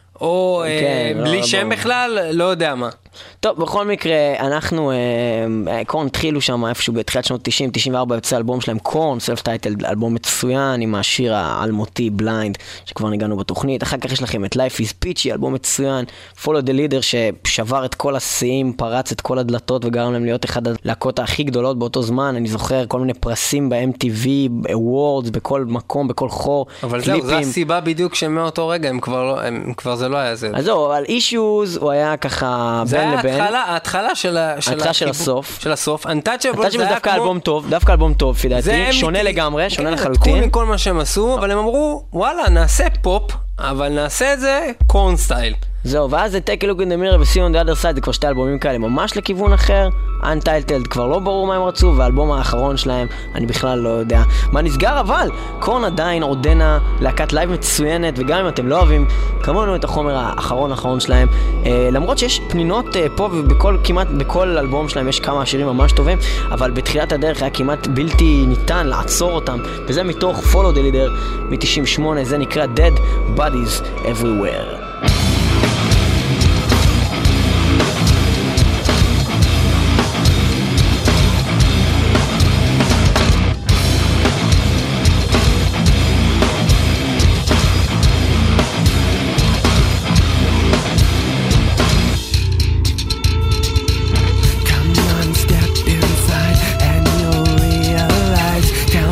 או בלי שם בכלל, לא יודע מה. טוב, בכל מקרה, אנחנו, קורן התחילו שם איפשהו בתחילת שנות תשעים, תשעים וארבע יוצא אלבום שלהם, קורן, סלף טייטל, אלבום מצוין עם השיר האלמותי, בליינד, שכבר ניגענו בתוכנית. אחר כך יש לכם את Life is Peachy, אלבום מצוין, Follow the Leader, ששבר את כל השיאים, פרץ את כל הדלתות וגרם להם להיות אחד הלהקות הכי גדולות באותו זמן. אני זוכר כל מיני פרסים ב-אם טי וי, Awards, בכל מקום, בכל חור, אבל זהו, זו הסיבה בדיוק שמאותו רגע, הם כבר לא, הם כבר זה לא היה זה. אז זהו, על Issues הוא היה ככה בין לבין. ההתחלה של ההתחלה של הסוף. של הסוף. Untouchables זה דווקא אלבום טוב, דווקא אלבום טוב, לפי דעתי. שונה לגמרי, שונה לחלוטין. לקחו מכל מה שהם עשו, אבל הם אמרו, וואלה, נעשה פופ, אבל נעשה את זה קורן סטייל. זהו, ואז זה Take a Look in the Mirror ו-See on the Other Side, זה כבר שתי אלבומים כאלה ממש לכיוון אחר. Untitled כבר לא ברור מה הם רצו, והאלבום האחרון שלהם, אני בכלל לא יודע מה נסגר, אבל קורן עדיין עודנה להקת לייב מצוינת, וגם אם אתם לא אוהבים כמונו את החומר האחרון האחרון שלהם, אה, למרות שיש פנינות אה, פה ובכל, כמעט בכל אלבום שלהם יש כמה שירים ממש טובים, אבל בתחילת הדרך היה כמעט בלתי ניתן לעצור אותם, וזה מתוך Follow the Leader מ-תשעים ושמונה, זה נקרא Dead Bodies Everywhere.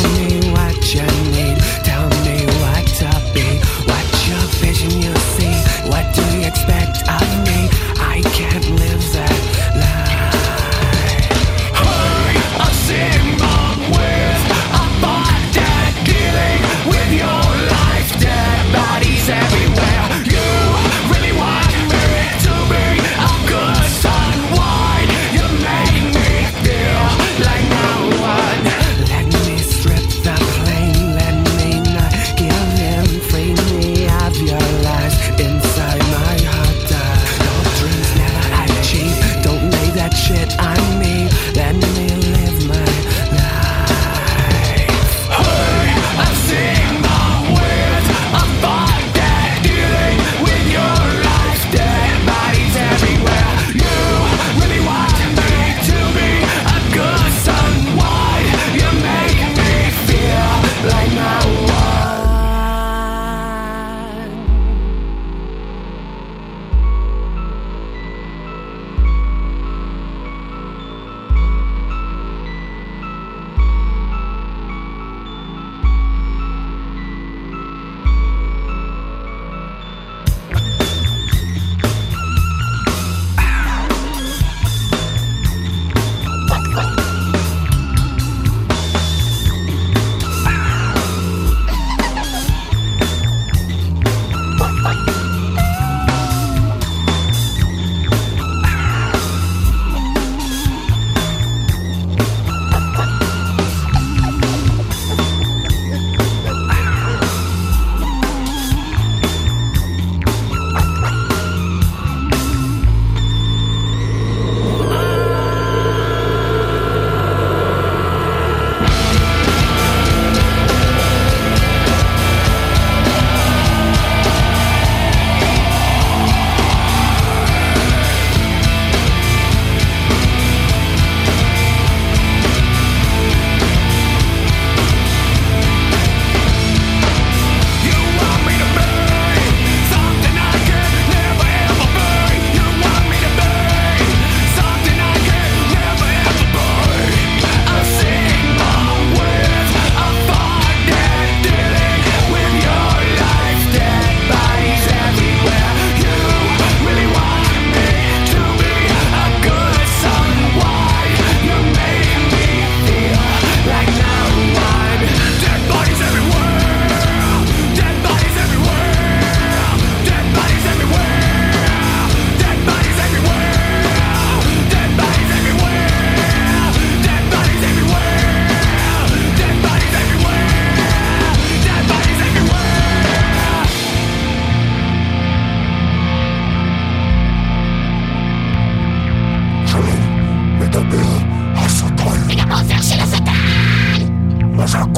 Tell me what to be, what your vision you see.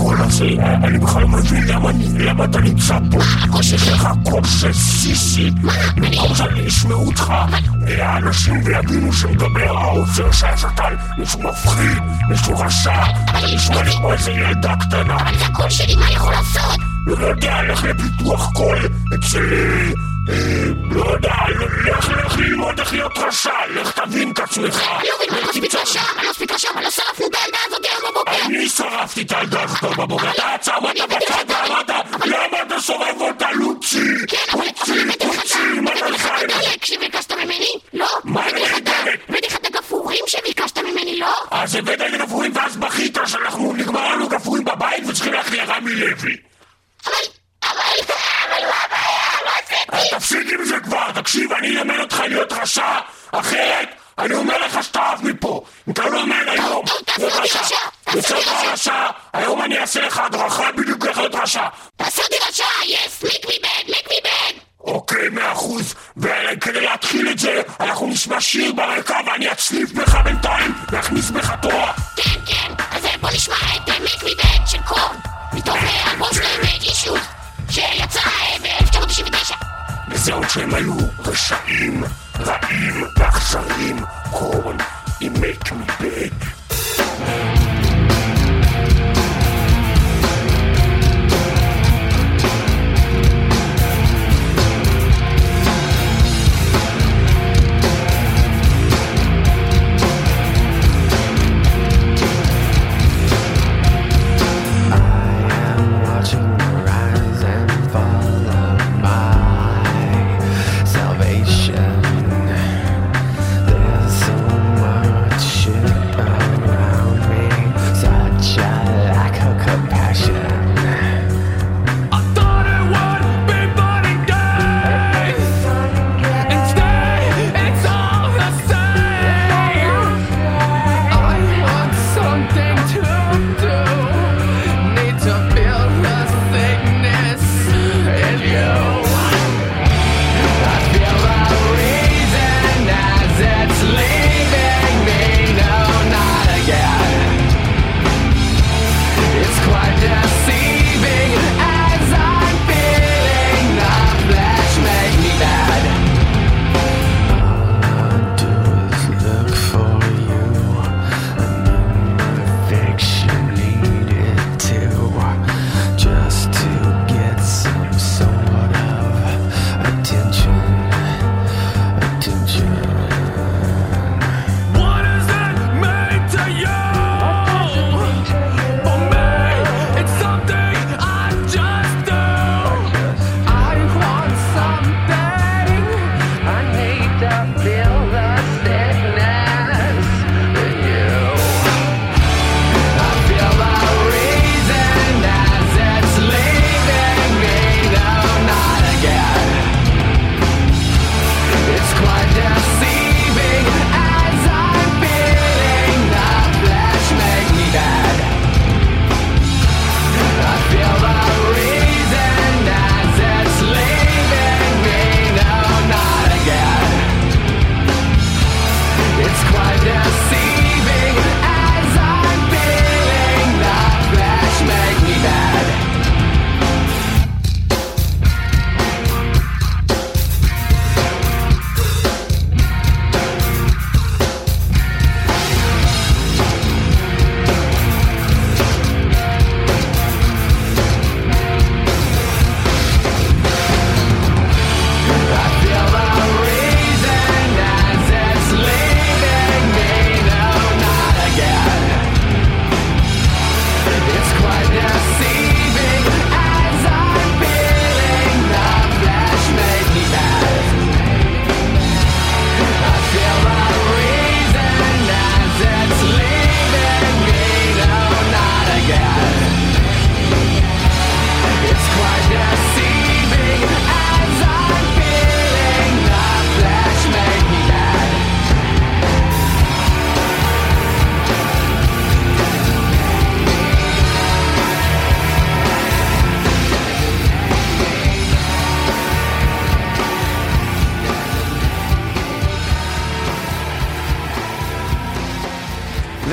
הקול הזה? אני בכלל לא מבין למה אני, למה אתה נמצא פה? חושך לך קול של סיסי. במקום שאני אשמעו אותך, האנשים ויבינו שמדבר העוצר שהשטן, מישהו מפחיד, מישהו רשע, אתה נשמע לי כמו איזה ילדה קטנה. אבל זה הקול שלי, מה יכול לעשות? לא יודע, לך לפיתוח קול אצלי. לא יודע, לך לך ללמוד איך להיות רשע, לך תבין את עצמך. אני לא מבין מה רציתי רשע, אני לא ספיק רשע, אבל לא שרפנו את הילדה הזאת היום בבוקר. אני שרפתי את הילדה הזאת בבוקר, אתה עצמת בצד ואמרת, למה אתה שורף אותה לוצי? לוצי, לוצי, מה אתה לך? דלק שביקשת ממני? לא. מה נהדרת? הבאתי לך את הגפורים שביקשת ממני, לא? אז הבאת את הגפורים ואז בכית שאנחנו נגמר לנו גפורים בבית וצריכים להכלי רמי לוי. אבל, אבל, אבל, אז תפסיק עם זה כבר, תקשיב, אני אלמד אותך להיות רשע, אחרת אני אומר לך שתעף מפה. אם אתה לא אומר היום, להיות רשע, יוצא לך רשע, היום אני אעשה לך הדרכה בדיוק איך להיות רשע. תעשה אותי רשע, yes, make me bad, make me bad. אוקיי, מאה אחוז, וכדי להתחיל את זה, אנחנו נשמע שיר ברקע ואני אצליף בך בינתיים, להכניס בך תורה. כן, כן, אז בוא נשמע את make me bad של קורן, מתוך אלבום שלהם אישוז, שיצא ב-אלף תשע מאות תשעים ותשע. וזהו שהם היו רשעים, רעים ואכזריים, קורן עם make me bad.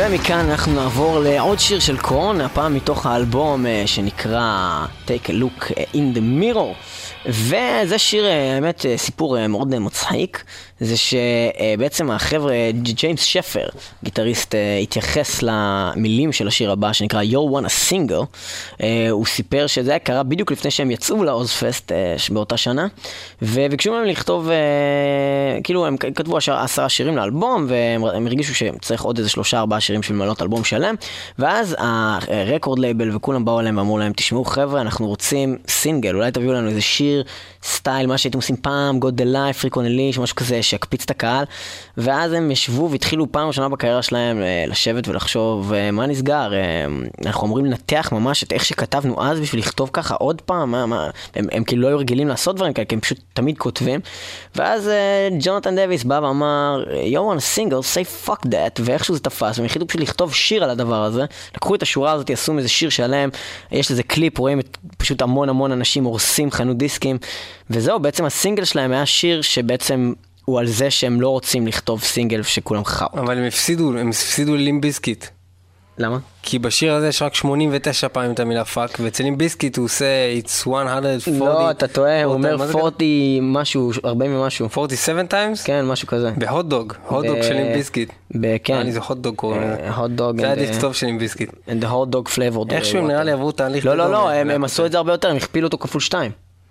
ומכאן אנחנו נעבור לעוד שיר של קורן, הפעם מתוך האלבום שנקרא Take a Look in the Mirror. וזה שיר, האמת, סיפור מאוד מצחיק. זה שבעצם החבר'ה, ג'יימס שפר, גיטריסט, התייחס למילים של השיר הבא שנקרא You Want a Single. הוא סיפר שזה היה קרה בדיוק לפני שהם יצאו לאוזפסט באותה שנה, וביקשו מהם לכתוב, כאילו הם כתבו עשרה שירים לאלבום, והם הרגישו שצריך עוד איזה שלושה ארבעה שירים של מלאות אלבום שלם, ואז הרקורד לייבל וכולם באו אליהם ואמרו להם, תשמעו חבר'ה, אנחנו רוצים סינגל, אולי תביאו לנו איזה שיר סטייל, מה שהייתם עושים פעם, God the Life, Freak on a Leash, משהו כזה שיקפיץ את הקהל. ואז הם ישבו והתחילו פעם ראשונה בקריירה שלהם לשבת ולחשוב מה נסגר, אנחנו אמורים לנתח ממש את איך שכתבנו אז בשביל לכתוב ככה עוד פעם, מה, מה, הם, הם כאילו לא היו רגילים לעשות דברים כאלה, כי הם פשוט תמיד כותבים. ואז ג'ונתן דוויס בא ואמר You want a single, say fuck that, ואיכשהו זה תפס, והם החליטו פשוט לכתוב שיר על הדבר הזה, לקחו את השורה הזאת, יעשו איזה שיר שלהם, יש לזה קליפ, רואים את פשוט המון המון אנשים הורסים חנות דיסקים, וזהו, בעצם הסינגל שלהם היה שיר שבעצם הוא על זה שהם לא רוצים לכתוב סינגל שכולם חאו. אבל הם הפסידו, הם הפסידו ללים ביסקיט. למה? כי בשיר הזה יש רק שמונים ותשע פעמים את המילה פאק, ואצל לים ביסקיט הוא עושה it's one hundred forty. לא, אתה טועה, הוא אומר ארבעים משהו, ארבעים ומשהו. forty-seven times? כן, משהו כזה. בהוט דוג, הוט דוג של לים ביסקיט. כן. אני זה הוט דוג קוראים. הוט דוג. זה היה דכתוב של לים ביסקיט. And the hot dog flavored. איכשהו נראה לי עברו תהליך. לא, לא, לא, הם עשו את זה הרבה יותר, הם הכפילו אותו כפול שתיים.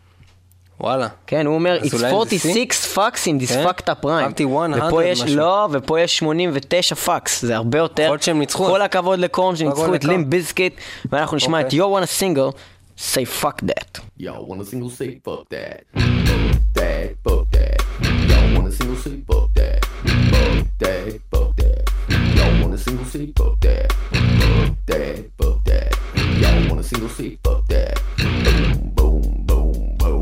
וואלה. כן, הוא אומר, it's forty-six fucks in this fucked up rhyme. ופה יש, לא, ופה יש שמונים ותשע fucks, זה הרבה יותר. יכול שהם ניצחו. כל הכבוד לקורן שניצחו את לים ביסקיט, ואנחנו נשמע את You Want a Single, say fuck that. Y'all want a single, say fuck that. Fuck that, fuck that. Y'all want a single, say fuck that. Fuck that, fuck that. Y'all want a single, say fuck that. Fuck that, fuck that. Y'all want a single, say fuck that. Boom, boom, boom, boom.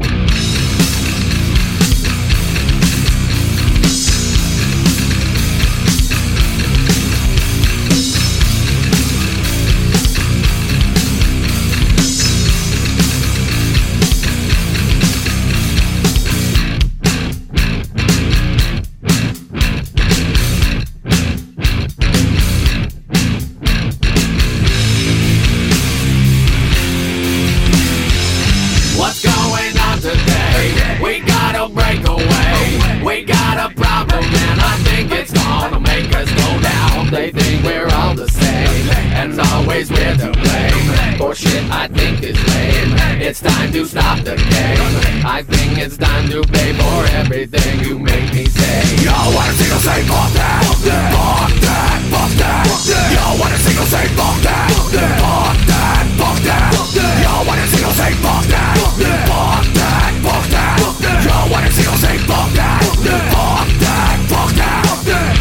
They think we're all the same, and always we're to blame for shit I think is lame. It's time to stop the game. I think it's time to pay for everything you make me say. Yo, want a single say fuck that, fuck that, fuck that, fuck that, fuck that. Yo, want a single say fuck that, fuck that, fuck that, fuck that, fuck that. Yo, want a single say fuck that, fuck that, fuck that, fuck that, fuck that. Yo, want a single say fuck that, fuck that, fuck that, fuck that, fuck that.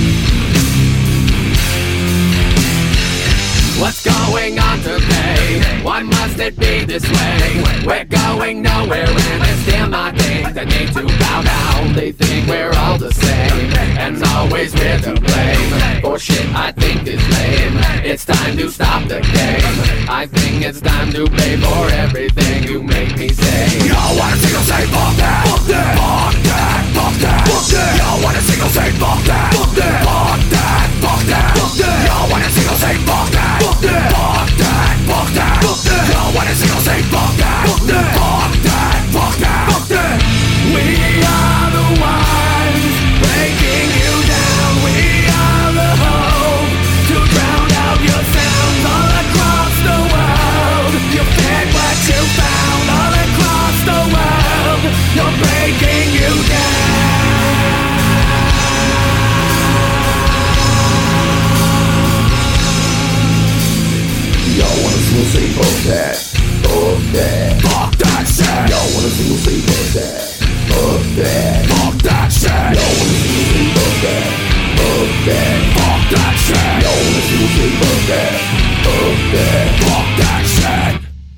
What's going on today? Why must it be this way? We're going nowhere and it's still my thing. They need to bow down. They think we're all the same, and always we're to blame for shit I think is lame. It's time to stop the game. I think it's time to pay for everything you make me say. Yo, want a single say fuck that, fuck that, fuck that, fuck that, fuck that. Yo, want a single say fuck that, fuck that, fuck that, fuck that, fuck that. Yo, want a single say fuck that. Fuck that, fuck that, fuck that, fuck that. Yo, want a single say fuck that, fuck that, fuck that, fuck that, fuck that. We are the ones breaking you down. We are the hope to drown out your sounds all across the world. You fed what you found all across the world. You're breaking you down. Y'all wanna single say fuck that, fuck that, fuck that shit. Y'all wanna single say fuck that, fuck that, fuck that shit. Y'all wanna single say fuck that, fuck that, fuck that shit. Y'all wanna single say fuck that, fuck that, fuck that shit.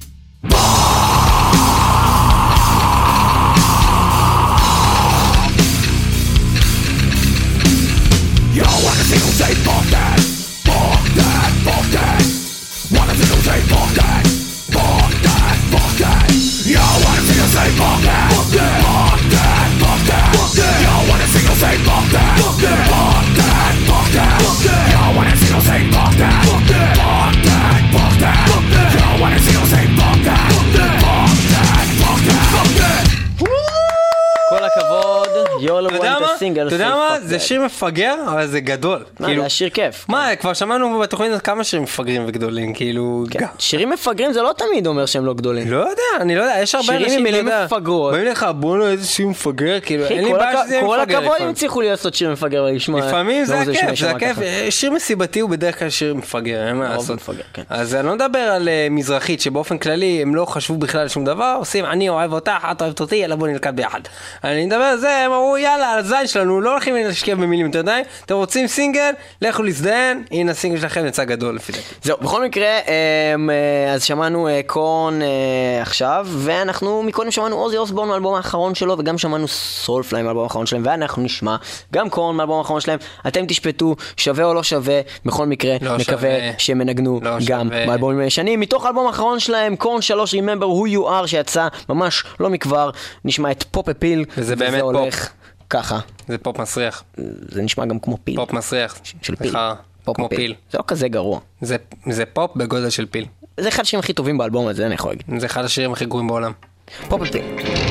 Y'all wanna single say fuck that, fuck that, fuck that. Wanna single say fuck that, fuck that, fuck that. Yo, wanna single say fuck that, fuck that, fuck that, fuck that, fuck that. Yo, wanna single say fuck that, fuck that, fuck that, fuck that, fuck that. Yo, wanna single say סינגל אתה יודע Say מה? Fuck זה That. שיר מפגר, אבל זה גדול. מה, כאילו, זה השיר כיף. מה, כבר שמענו בתוכנית הזאת כמה שירים מפגרים וגדולים, כאילו... כן. גם. שירים מפגרים זה לא תמיד אומר שהם לא גדולים. לא יודע, אני לא יודע, יש הרבה שירים אנשים, עם מילים אתה יודע, מפגרות. באים לך, בוא נו, איזה שיר מפגר, כאילו, אחי, אין לי כל בעיה הכ- שזה יהיה כל מפגר הכבוד אם לפעמים. הצליחו לעשות שיר מפגר ולשמוע. לפעמים זה לא, הכיף, יישמע זה הכיף. ככה. שיר מסיבתי הוא בדרך כלל שיר מפגר, אין מה הרוב לעשות. מפגר, כן. אז אני לא מדבר על אה, מזרחית, שבאופן כללי הם לא חשבו בכלל על שום דבר, עושים אני אוהב אותך, את אוהבת אותי, יאללה בוא נלכד ביחד. אני מדבר על זה, הם אמרו יאללה, על הזין שלנו, לא הולכים להשקיע במילים יותר די, אתם רוצים סינגל, לכו להזדהן, הנה הסינגל שלכם יצא גדול לפי דעתי. זהו, בכל מקרה, אמ, אה, אז שמענו אה, קורן אה, עכשיו, ואנחנו מקודם שמענו עוזי אוסבורן מהאלבום האחרון שלו, וגם שמענו סולפליי מהאלבום האחרון שלהם, ואנחנו נשמע גם קורן מהאלבום האחרון שלהם. אתם תשפטו, שווה או לא שווה, בכל מקרה, לא מקווה שווה. שהם ינגנו לא גם שווה. באלבומים הישנים. מתוך האלבום האחרון שלהם, קורן שלוש, Remember Who You Are, שיצא ממש לא מכבר, נשמע את פופ אפיל, וזה באמת פופ. הולך ככה. זה פופ מסריח, זה נשמע גם כמו פיל. פופ מסריח. של פיל. סליחה, פופ כמו אפיל. פיל. זה לא כזה גרוע. זה, זה פופ בגודל של פיל. זה אחד השירים הכי טובים באלבום הזה, אני יכול להגיד. זה אחד השירים הכי גרועים בעולם. פופ אפיל.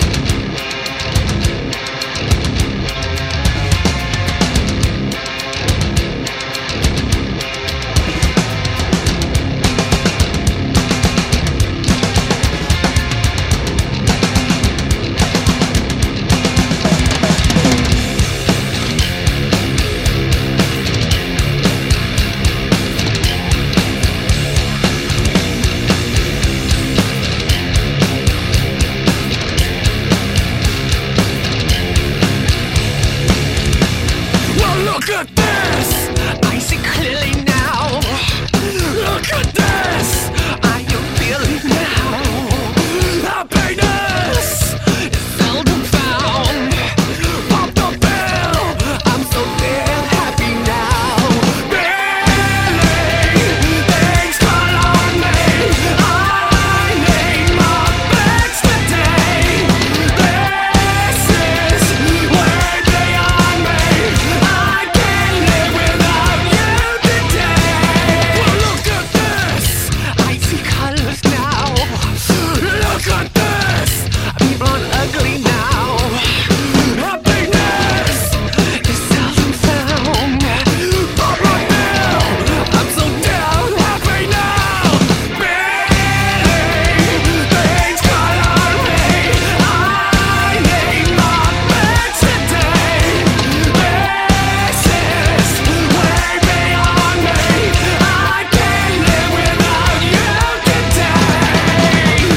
Well, look at this. I see clearly now. Look at this. I am feeling now. Happiness is seldom found. Pop the pill. I'm so damn happy now. Really, things call on me. I need my fix today. This is way beyond me. I can't live without you today. Well, look at this. I see colors now. Look at this. People aren't ugly now. Happiness is seldom found. Pop my pill. I'm so down happy now. Really, things call on me. I need my fix today. This is way beyond me. I can't live without you today. You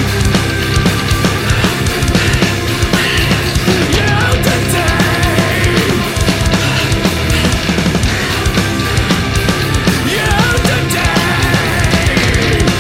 today. You today.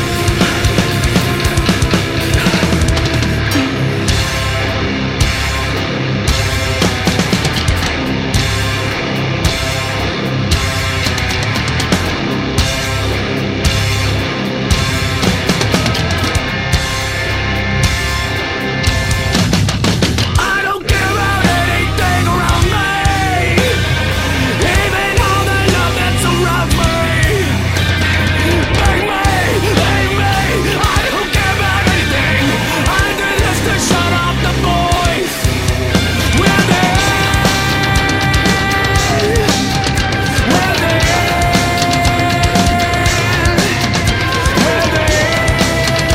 I don't care about anything around me, even all the love that's around me. Bang me, bang me, I don't care about anything. I did this to shut off the voice. Where they Where they Where they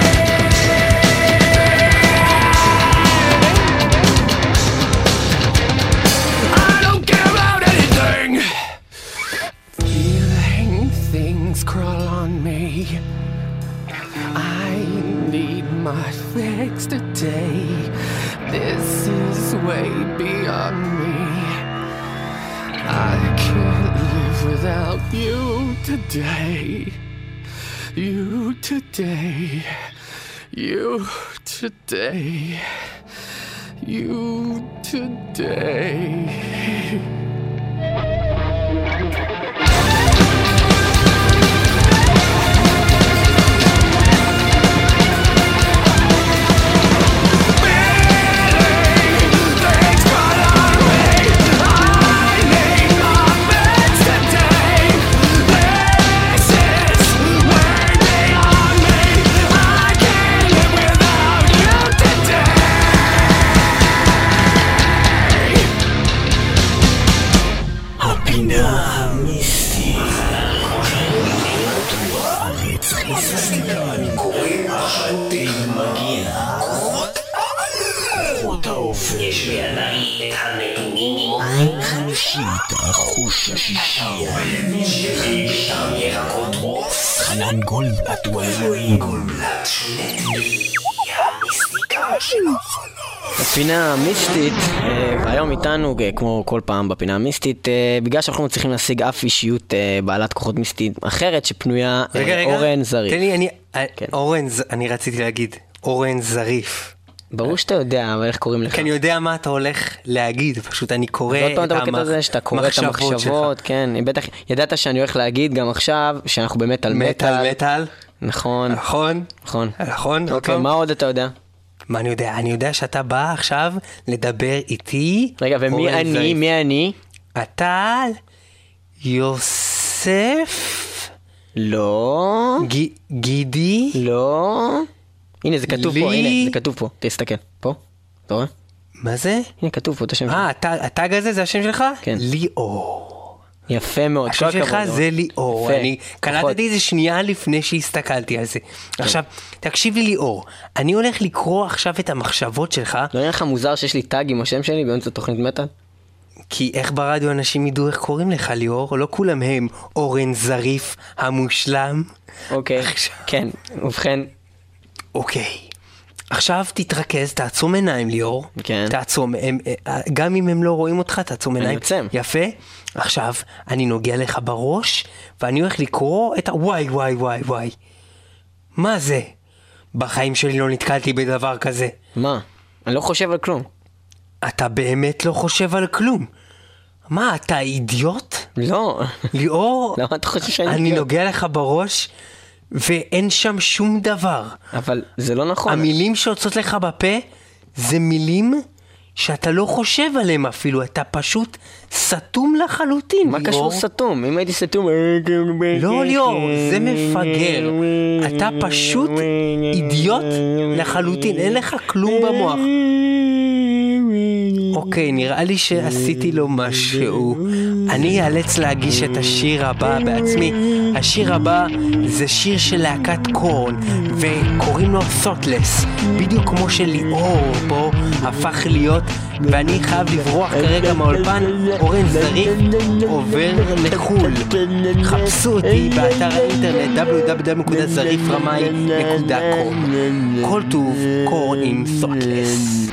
I don't care about anything. Feeling things crawl on me. I need my fix today. This is way beyond me. I can't live without you today. You today. You today. You today. Things call on me. I need my fix today. This is way beyond me. I can't live without you today. שבידיי את הנתונים. עין חמישית, החוש השישי. שלי בטעם ירקות עוף. חנן גולדבלט הוא האלוהים. גולדבלט שולט בי, המיסטיקה של החלום. בפינה המיסטית, והיום איתנו, כמו כל פעם בפינה המיסטית, בגלל שאנחנו מצליחים להשיג אף אישיות בעלת כוחות מיסטית אחרת שפנויה, אורן זריף. תן לי, אני, אורן, אני רציתי להגיד, אורן זריף. ברור שאתה יודע, אבל איך קוראים לך? כי אני יודע מה אתה הולך להגיד, פשוט אני קורא את המחשבות, כן, בטח, ידעת שאני הולך להגיד גם עכשיו, שאנחנו באמת על מטל. מטל? נכון. נכון? נכון. נכון? אוקיי, מה עוד אתה יודע? מה אני יודע? אני יודע שאתה בא עכשיו לדבר איתי. רגע, ומי אני? מי אני? אתה יוסף? לא. גידי? לא. הנה, זה כתוב פה, הנה, זה כתוב פה. תסתכל, פה. אתה רואה? מה זה? הנה, כתוב פה את השם שלך. אה, הטאג הזה זה השם שלך? כן. ליאור. יפה מאוד. השם שלך זה ליאור. אני קלטתי איזה שנייה לפני שהסתכלתי על זה. עכשיו, תקשיב לי ליאור, אני הולך לקרוא עכשיו את המחשבות שלך. לא נראה לך מוזר שיש לי טאג עם השם שלי באמצע תוכנית מטל? כי איך ברדיו אנשים ידעו איך קוראים לך ליאור? לא כולם הם אורן זריף המושלם. אוקיי, כן, ובכן. אוקיי. עכשיו תתרכז, תעצום עיניים ליאור. כן. תעצום, הם, גם אם הם לא רואים אותך, תעצום עיניים. אני יוצם. יפה. עכשיו, אני נוגע לך בראש, ואני הולך לקרוא את ה... וואי, וואי, וואי, וואי. מה זה? בחיים שלי לא נתקלתי בדבר כזה. מה? אני לא חושב על כלום. אתה באמת לא חושב על כלום. מה, אתה אידיוט? לא. ליאור, למה אתה חושב שאני אני אידיוט? נוגע לך בראש, ואין שם שום דבר. אבל זה לא נכון. המילים שיוצאות לך בפה, זה מילים שאתה לא חושב עליהם אפילו, אתה פשוט סתום לחלוטין. מה קשור סתום? אם הייתי סתום... לא ליאור, זה מפגר. אתה פשוט אידיוט לחלוטין, אין לך כלום במוח. אוקיי, נראה לי שעשיתי לו משהו. אני אאלץ להגיש את השיר הבא בעצמי. השיר הבא זה שיר של להקת קורן, וקוראים לו Thoughtless, בדיוק כמו שליאור פה הפך להיות, ואני חייב לברוח כרגע מהאולפן. אורן זריף עובר לחול. חפשו אותי באתר האינטרנט דאבליו דאבליו דאבליו נקודה זריף רמאי נקודה קום. כל טוב, קורן עם Thoughtless.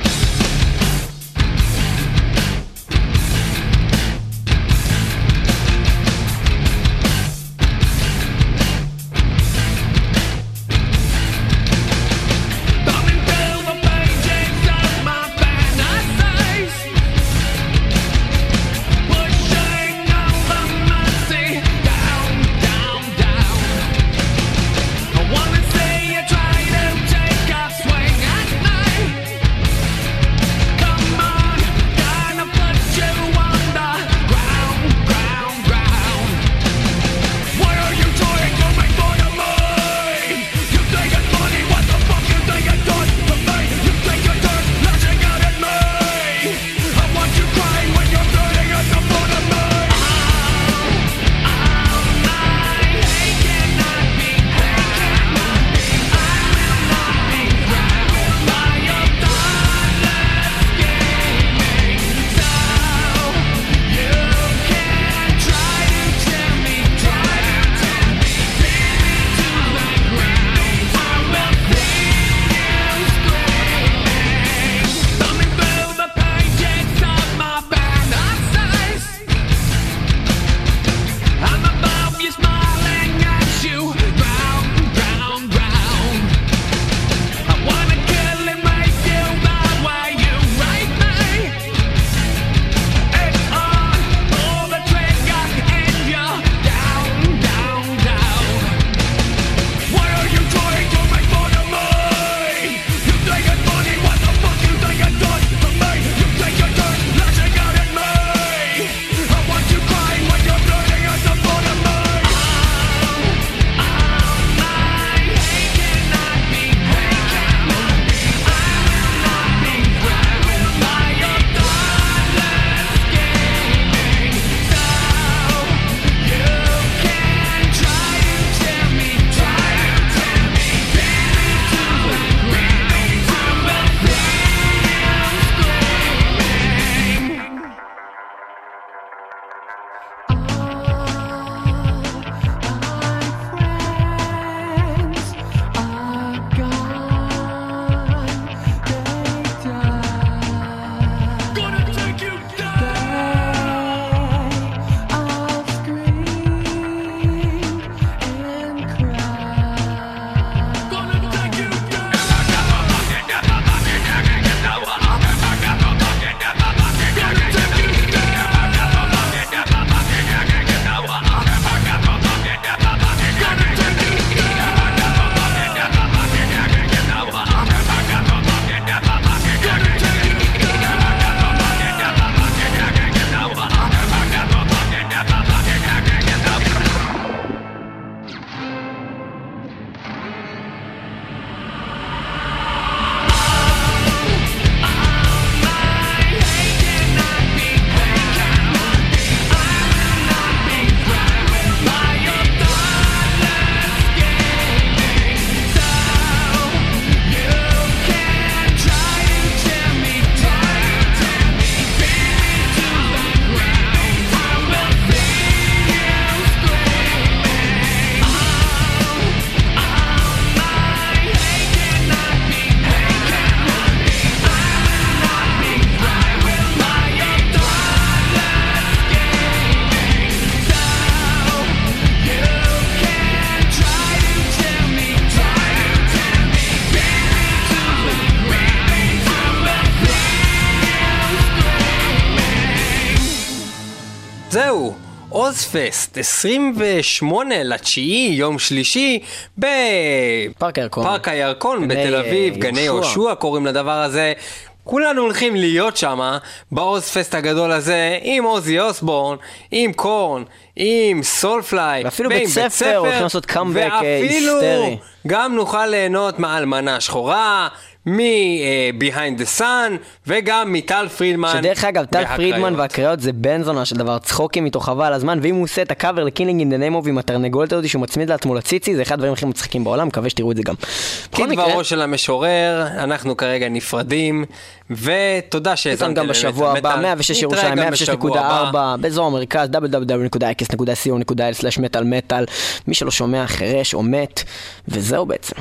זהו, עוזפסט, עשרים ושמונה לתשיעי, יום שלישי, פארק הירקון. בפארק הירקון בתל אביב, גני יהושע קוראים לדבר הזה. כולנו הולכים להיות שם, בעוזפסט הגדול הזה, עם עוזי אוסבורן, עם קורן, עם סולפליי, ואפילו בית ספר, הולכים לעשות קאמבק היסטרי. ואפילו גם נוכל ליהנות מהאלמנה השחורה, מ-Behind the Sun, וגם מטל פרידמן. שדרך אגב, טל פרידמן והקריאות זה בן זונה של דבר, צחוקים איתו חבל על הזמן, ואם הוא עושה את הקאבר ל-Killing in the Name of עם התרנגולת הזאת שהוא מצמיד לעצמו לציצי, זה אחד הדברים הכי מצחיקים בעולם, מקווה שתראו את זה גם. כדברו של המשורר, אנחנו כרגע נפרדים, ותודה שהזמתם גם בשבוע הבא, מאה ושש ירושלים, מאה ושש נקודה ארבע, באזור המרכז, דאבליו דאבליו דאבליו נקודה אייקס נקודה סי או נקודה איי אל סלאש מטל מטל, מי שלא שומע חרש או מת, וזהו בעצם.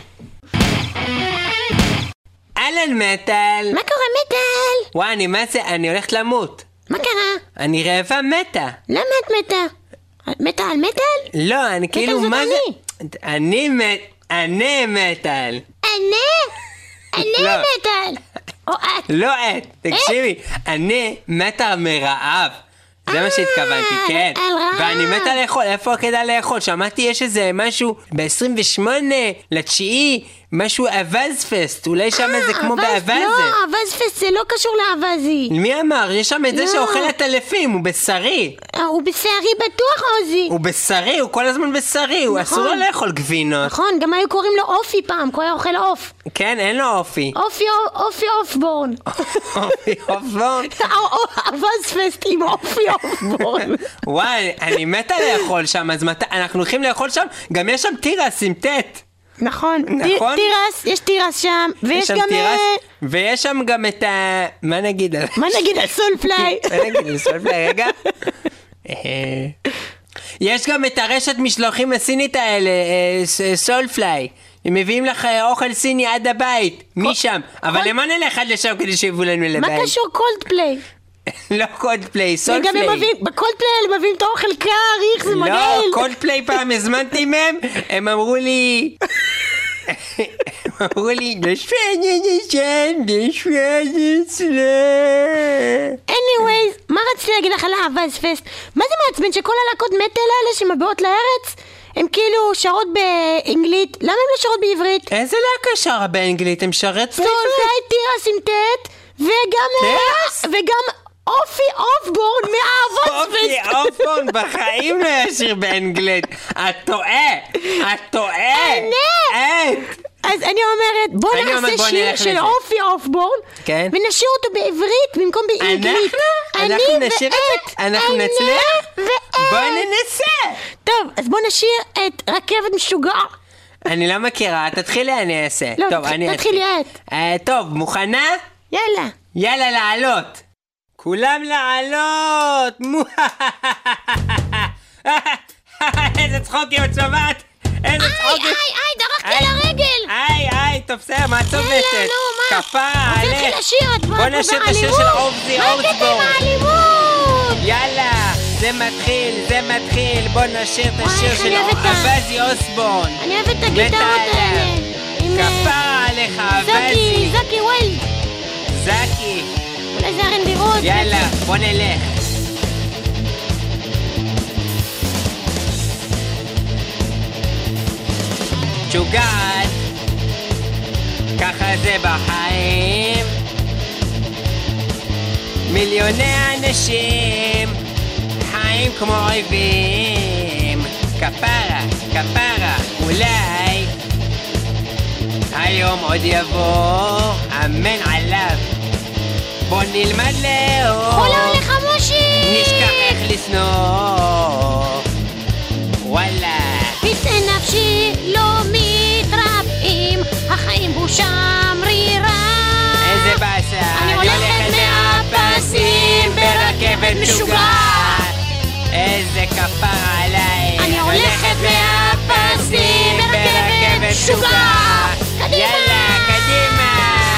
אהלן מטל. מה קורה מטל? וואי, אני מה זה? אני הולכת למות. מה קרה? אני רעבה מתה. למה את מתה? מתה על מטל? לא, אני כאילו, מה זה? אני מת... אני מטל. אני? אני מטל. או את. לא את, תקשיבי. אני מתה מרעב. זה מה שהתכוונתי, כן. ואני מתה לאכול, איפה כדאי לאכול? שמעתי יש איזה משהו ב-עשרים ושמונה לתשיעי, משהו אבזפסט, אולי שם זה כמו באבז. לא, אבזפסט זה לא קשור לאבזי. מי אמר? יש שם את זה שאוכל את אלפים, הוא בשרי. הוא בשרי בטוח, עוזי. הוא בשרי, הוא כל הזמן בשרי, הוא אסור לו לאכול גבינות. נכון, גם היו קוראים לו אופי פעם, הוא היה אוכל אוף. כן, אין לו אופי. אופי, אופי אופבורן. אופי אופבורן? אבזפסט עם אופי אופבורן. וואי, אני מתה לאכול שם, אז אנחנו הולכים לאכול שם, גם יש שם טירס עם טט. נכון, טירס, יש טירס שם, ויש גם... ויש שם גם את ה... מה נגיד? מה נגיד על סולפליי? מה נגיד על סולפליי? רגע. יש גם את הרשת משלוחים הסינית האלה, סולפליי. הם מביאים לך אוכל סיני עד הבית, משם. אבל למה נלך עד לשם כדי שיבואו לנו לבית? מה קשור קולדפליי? לא קולדפליי, סולפליי. בקולדפליי הם מביאים את האוכל קר, איך זה מגעיל. לא, קולדפליי פעם הזמנתי מהם, הם אמרו לי... הם אמרו לי, נשפנית נשן, נשפנית סלם. anyways, מה רציתי להגיד לך על האבזפסט? מה זה מעצבן שכל הלהקות מטל האלה שמבאות לארץ? הם כאילו שרות באנגלית, למה הם לא שרות בעברית? איזה להקה שרה באנגלית? הם שרת סולפליי, טירס עם טט, וגם... וגם... אופי אופבורן מהאבזפסט. אופי אופבורן בחיים לא ישיר באנגלית. את טועה. את טועה. אני. אז אני אומרת, בוא נעשה שיר של אופי אופבורן, ונשאיר אותו בעברית במקום באנגלית. אנחנו נשאיר את זה. אנחנו נצליח. בוא ננסה. טוב, אז בוא נשאיר את רכבת משוגע. אני לא מכירה, תתחילי אני אעשה. לא, תתחילי את. טוב, מוכנה? יאללה. יאללה, לעלות. כולם לעלות! איזה צחוקים את שומעת! איזה צחוקים! איי, איי, איי, דרכתי על הרגל! איי, איי, טוב בסדר, מה צובטת? כפרה עלך! בוא נשאיר את השיר של עובדי אורסבורן! מה קטע מהאלימות? יאללה, זה מתחיל, זה מתחיל! בוא נשאיר את השיר של עובדי אורסבורן! אני אוהבת את הגיטרות האלה! כפרה עליך, עובדי! זקי, זקי ווילד! זקי! איזה רנדירות. יאללה, בוא נלך. שוגעת, ככה זה בחיים. מיליוני אנשים חיים כמו אויבים. כפרה, כפרה, אולי היום עוד יבוא, אמן עליו. בוא נלמד לאהוב, חולה עליך מושי, נשכח איך לשנוא, וואלה פצעי נפשי לא מתרפאים, החיים בושה מרירה. איזה באסה, אני הולכת מהפסים ברכבת משוגעת. איזה כפרה עליי, אני הולכת מהפסים ברכבת משוגעת. יאללה, קדימה.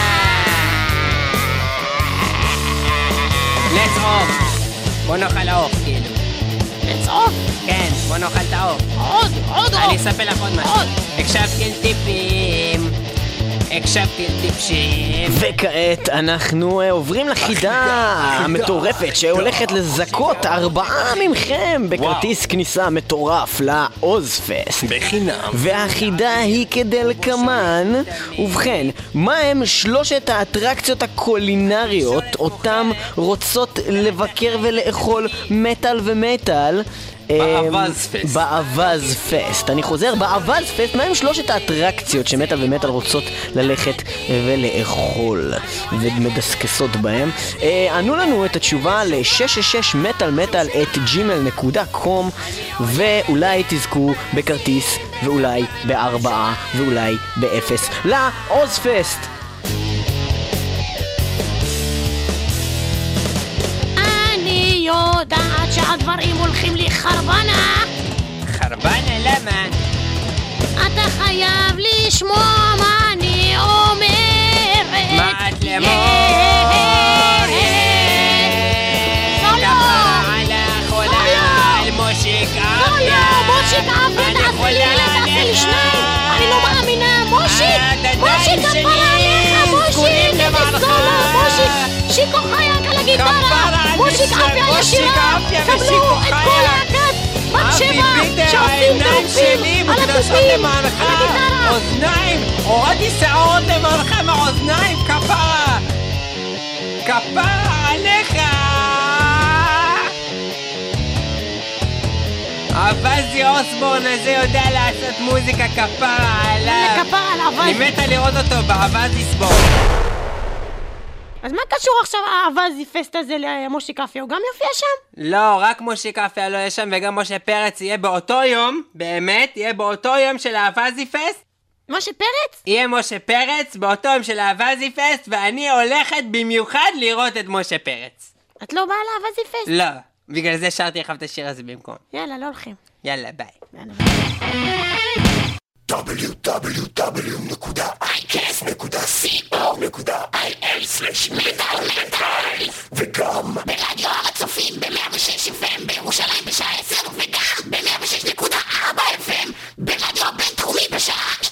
let's off. בוא נאכל עוף, כאילו. let's off? כן, בוא נאכל את העוף. עוד, עוד עוף. אני אספר לך עוד משהו. הקשבתי לטיפים, הקשבתי לטיפשים. וכעת אנחנו אה, עוברים לחידה המטורפת שהולכת לזכות ארבעה מכם בכרטיס כניסה מטורף לעוזפסט בחינם. והחידה היא כדלקמן. ובכן, מה הם שלושת האטרקציות הקולינריות אותם רוצות לבקר ולאכול מטל ומטל באבז פסט. באבז פסט. אני חוזר, באבז פסט. מה הם שלושת האטרקציות שמטל ומטל רוצות ללכת ולאכול ומדסקסות בהם? אה, ענו לנו את התשובה ל-שש שש שש מטל מטל את ג'ימייל נקודה קום, ואולי תזכו בכרטיס, ואולי בארבעה, ואולי באפס לעוזפסט. אני יודעת שהדברים הולכים לי חרבנה. חרבנה למה? אתה חייב לשמוע מה אני אומרת. מה את למור? כפה עלך עולה על מושיק לא, לא, מושיק אבן, תעשי לי אלה, תעשי לי שניים. אני לא מאמינה, מושיק, מושיק כפרה עליך, מושיק, איזה סולו, מושיק, שיקו חייק על הגיטרה, מושיק אבי הישירה, קבלו את כל להקת בת שבע שעושים דרופים על התופים, על הגיטרה. אוזניים, הורדתי שערות למענכם האוזניים, כפרה, כפרה עליך. אבזי אוסבורן הזה יודע לעשות מוזיקה, כפרה עליו. כפרה על אבזי. אני מתה לראות אותו באבזי סבורן. אז מה קשור עכשיו האבזי פסט הזה למושיק אפיה? הוא גם יופיע שם? לא, רק מושיק אפיה לא יהיה שם, וגם משה פרץ יהיה באותו יום, באמת, יהיה באותו יום של האבזי פסט. משה פרץ? יהיה משה פרץ באותו יום של האבזי פסט, ואני הולכת במיוחד לראות את משה פרץ. את לא באה לאבזי פסט? לא, בגלל זה שרתי לך את השיר הזה במקום. יאללה, לא הולכים. יאללה, ביי. דאבליו דאבליו דאבליו נקודה איי קאסט נקודה סי או נקודה איי אל סלש מטל מטל, וגם ברדיו הצופים ב-מאה ושש אף אם בירושלים בשעה עשר, וגם ב-מאה ושש נקודה ארבע אף אם ברדיו הבינתחומי בשעה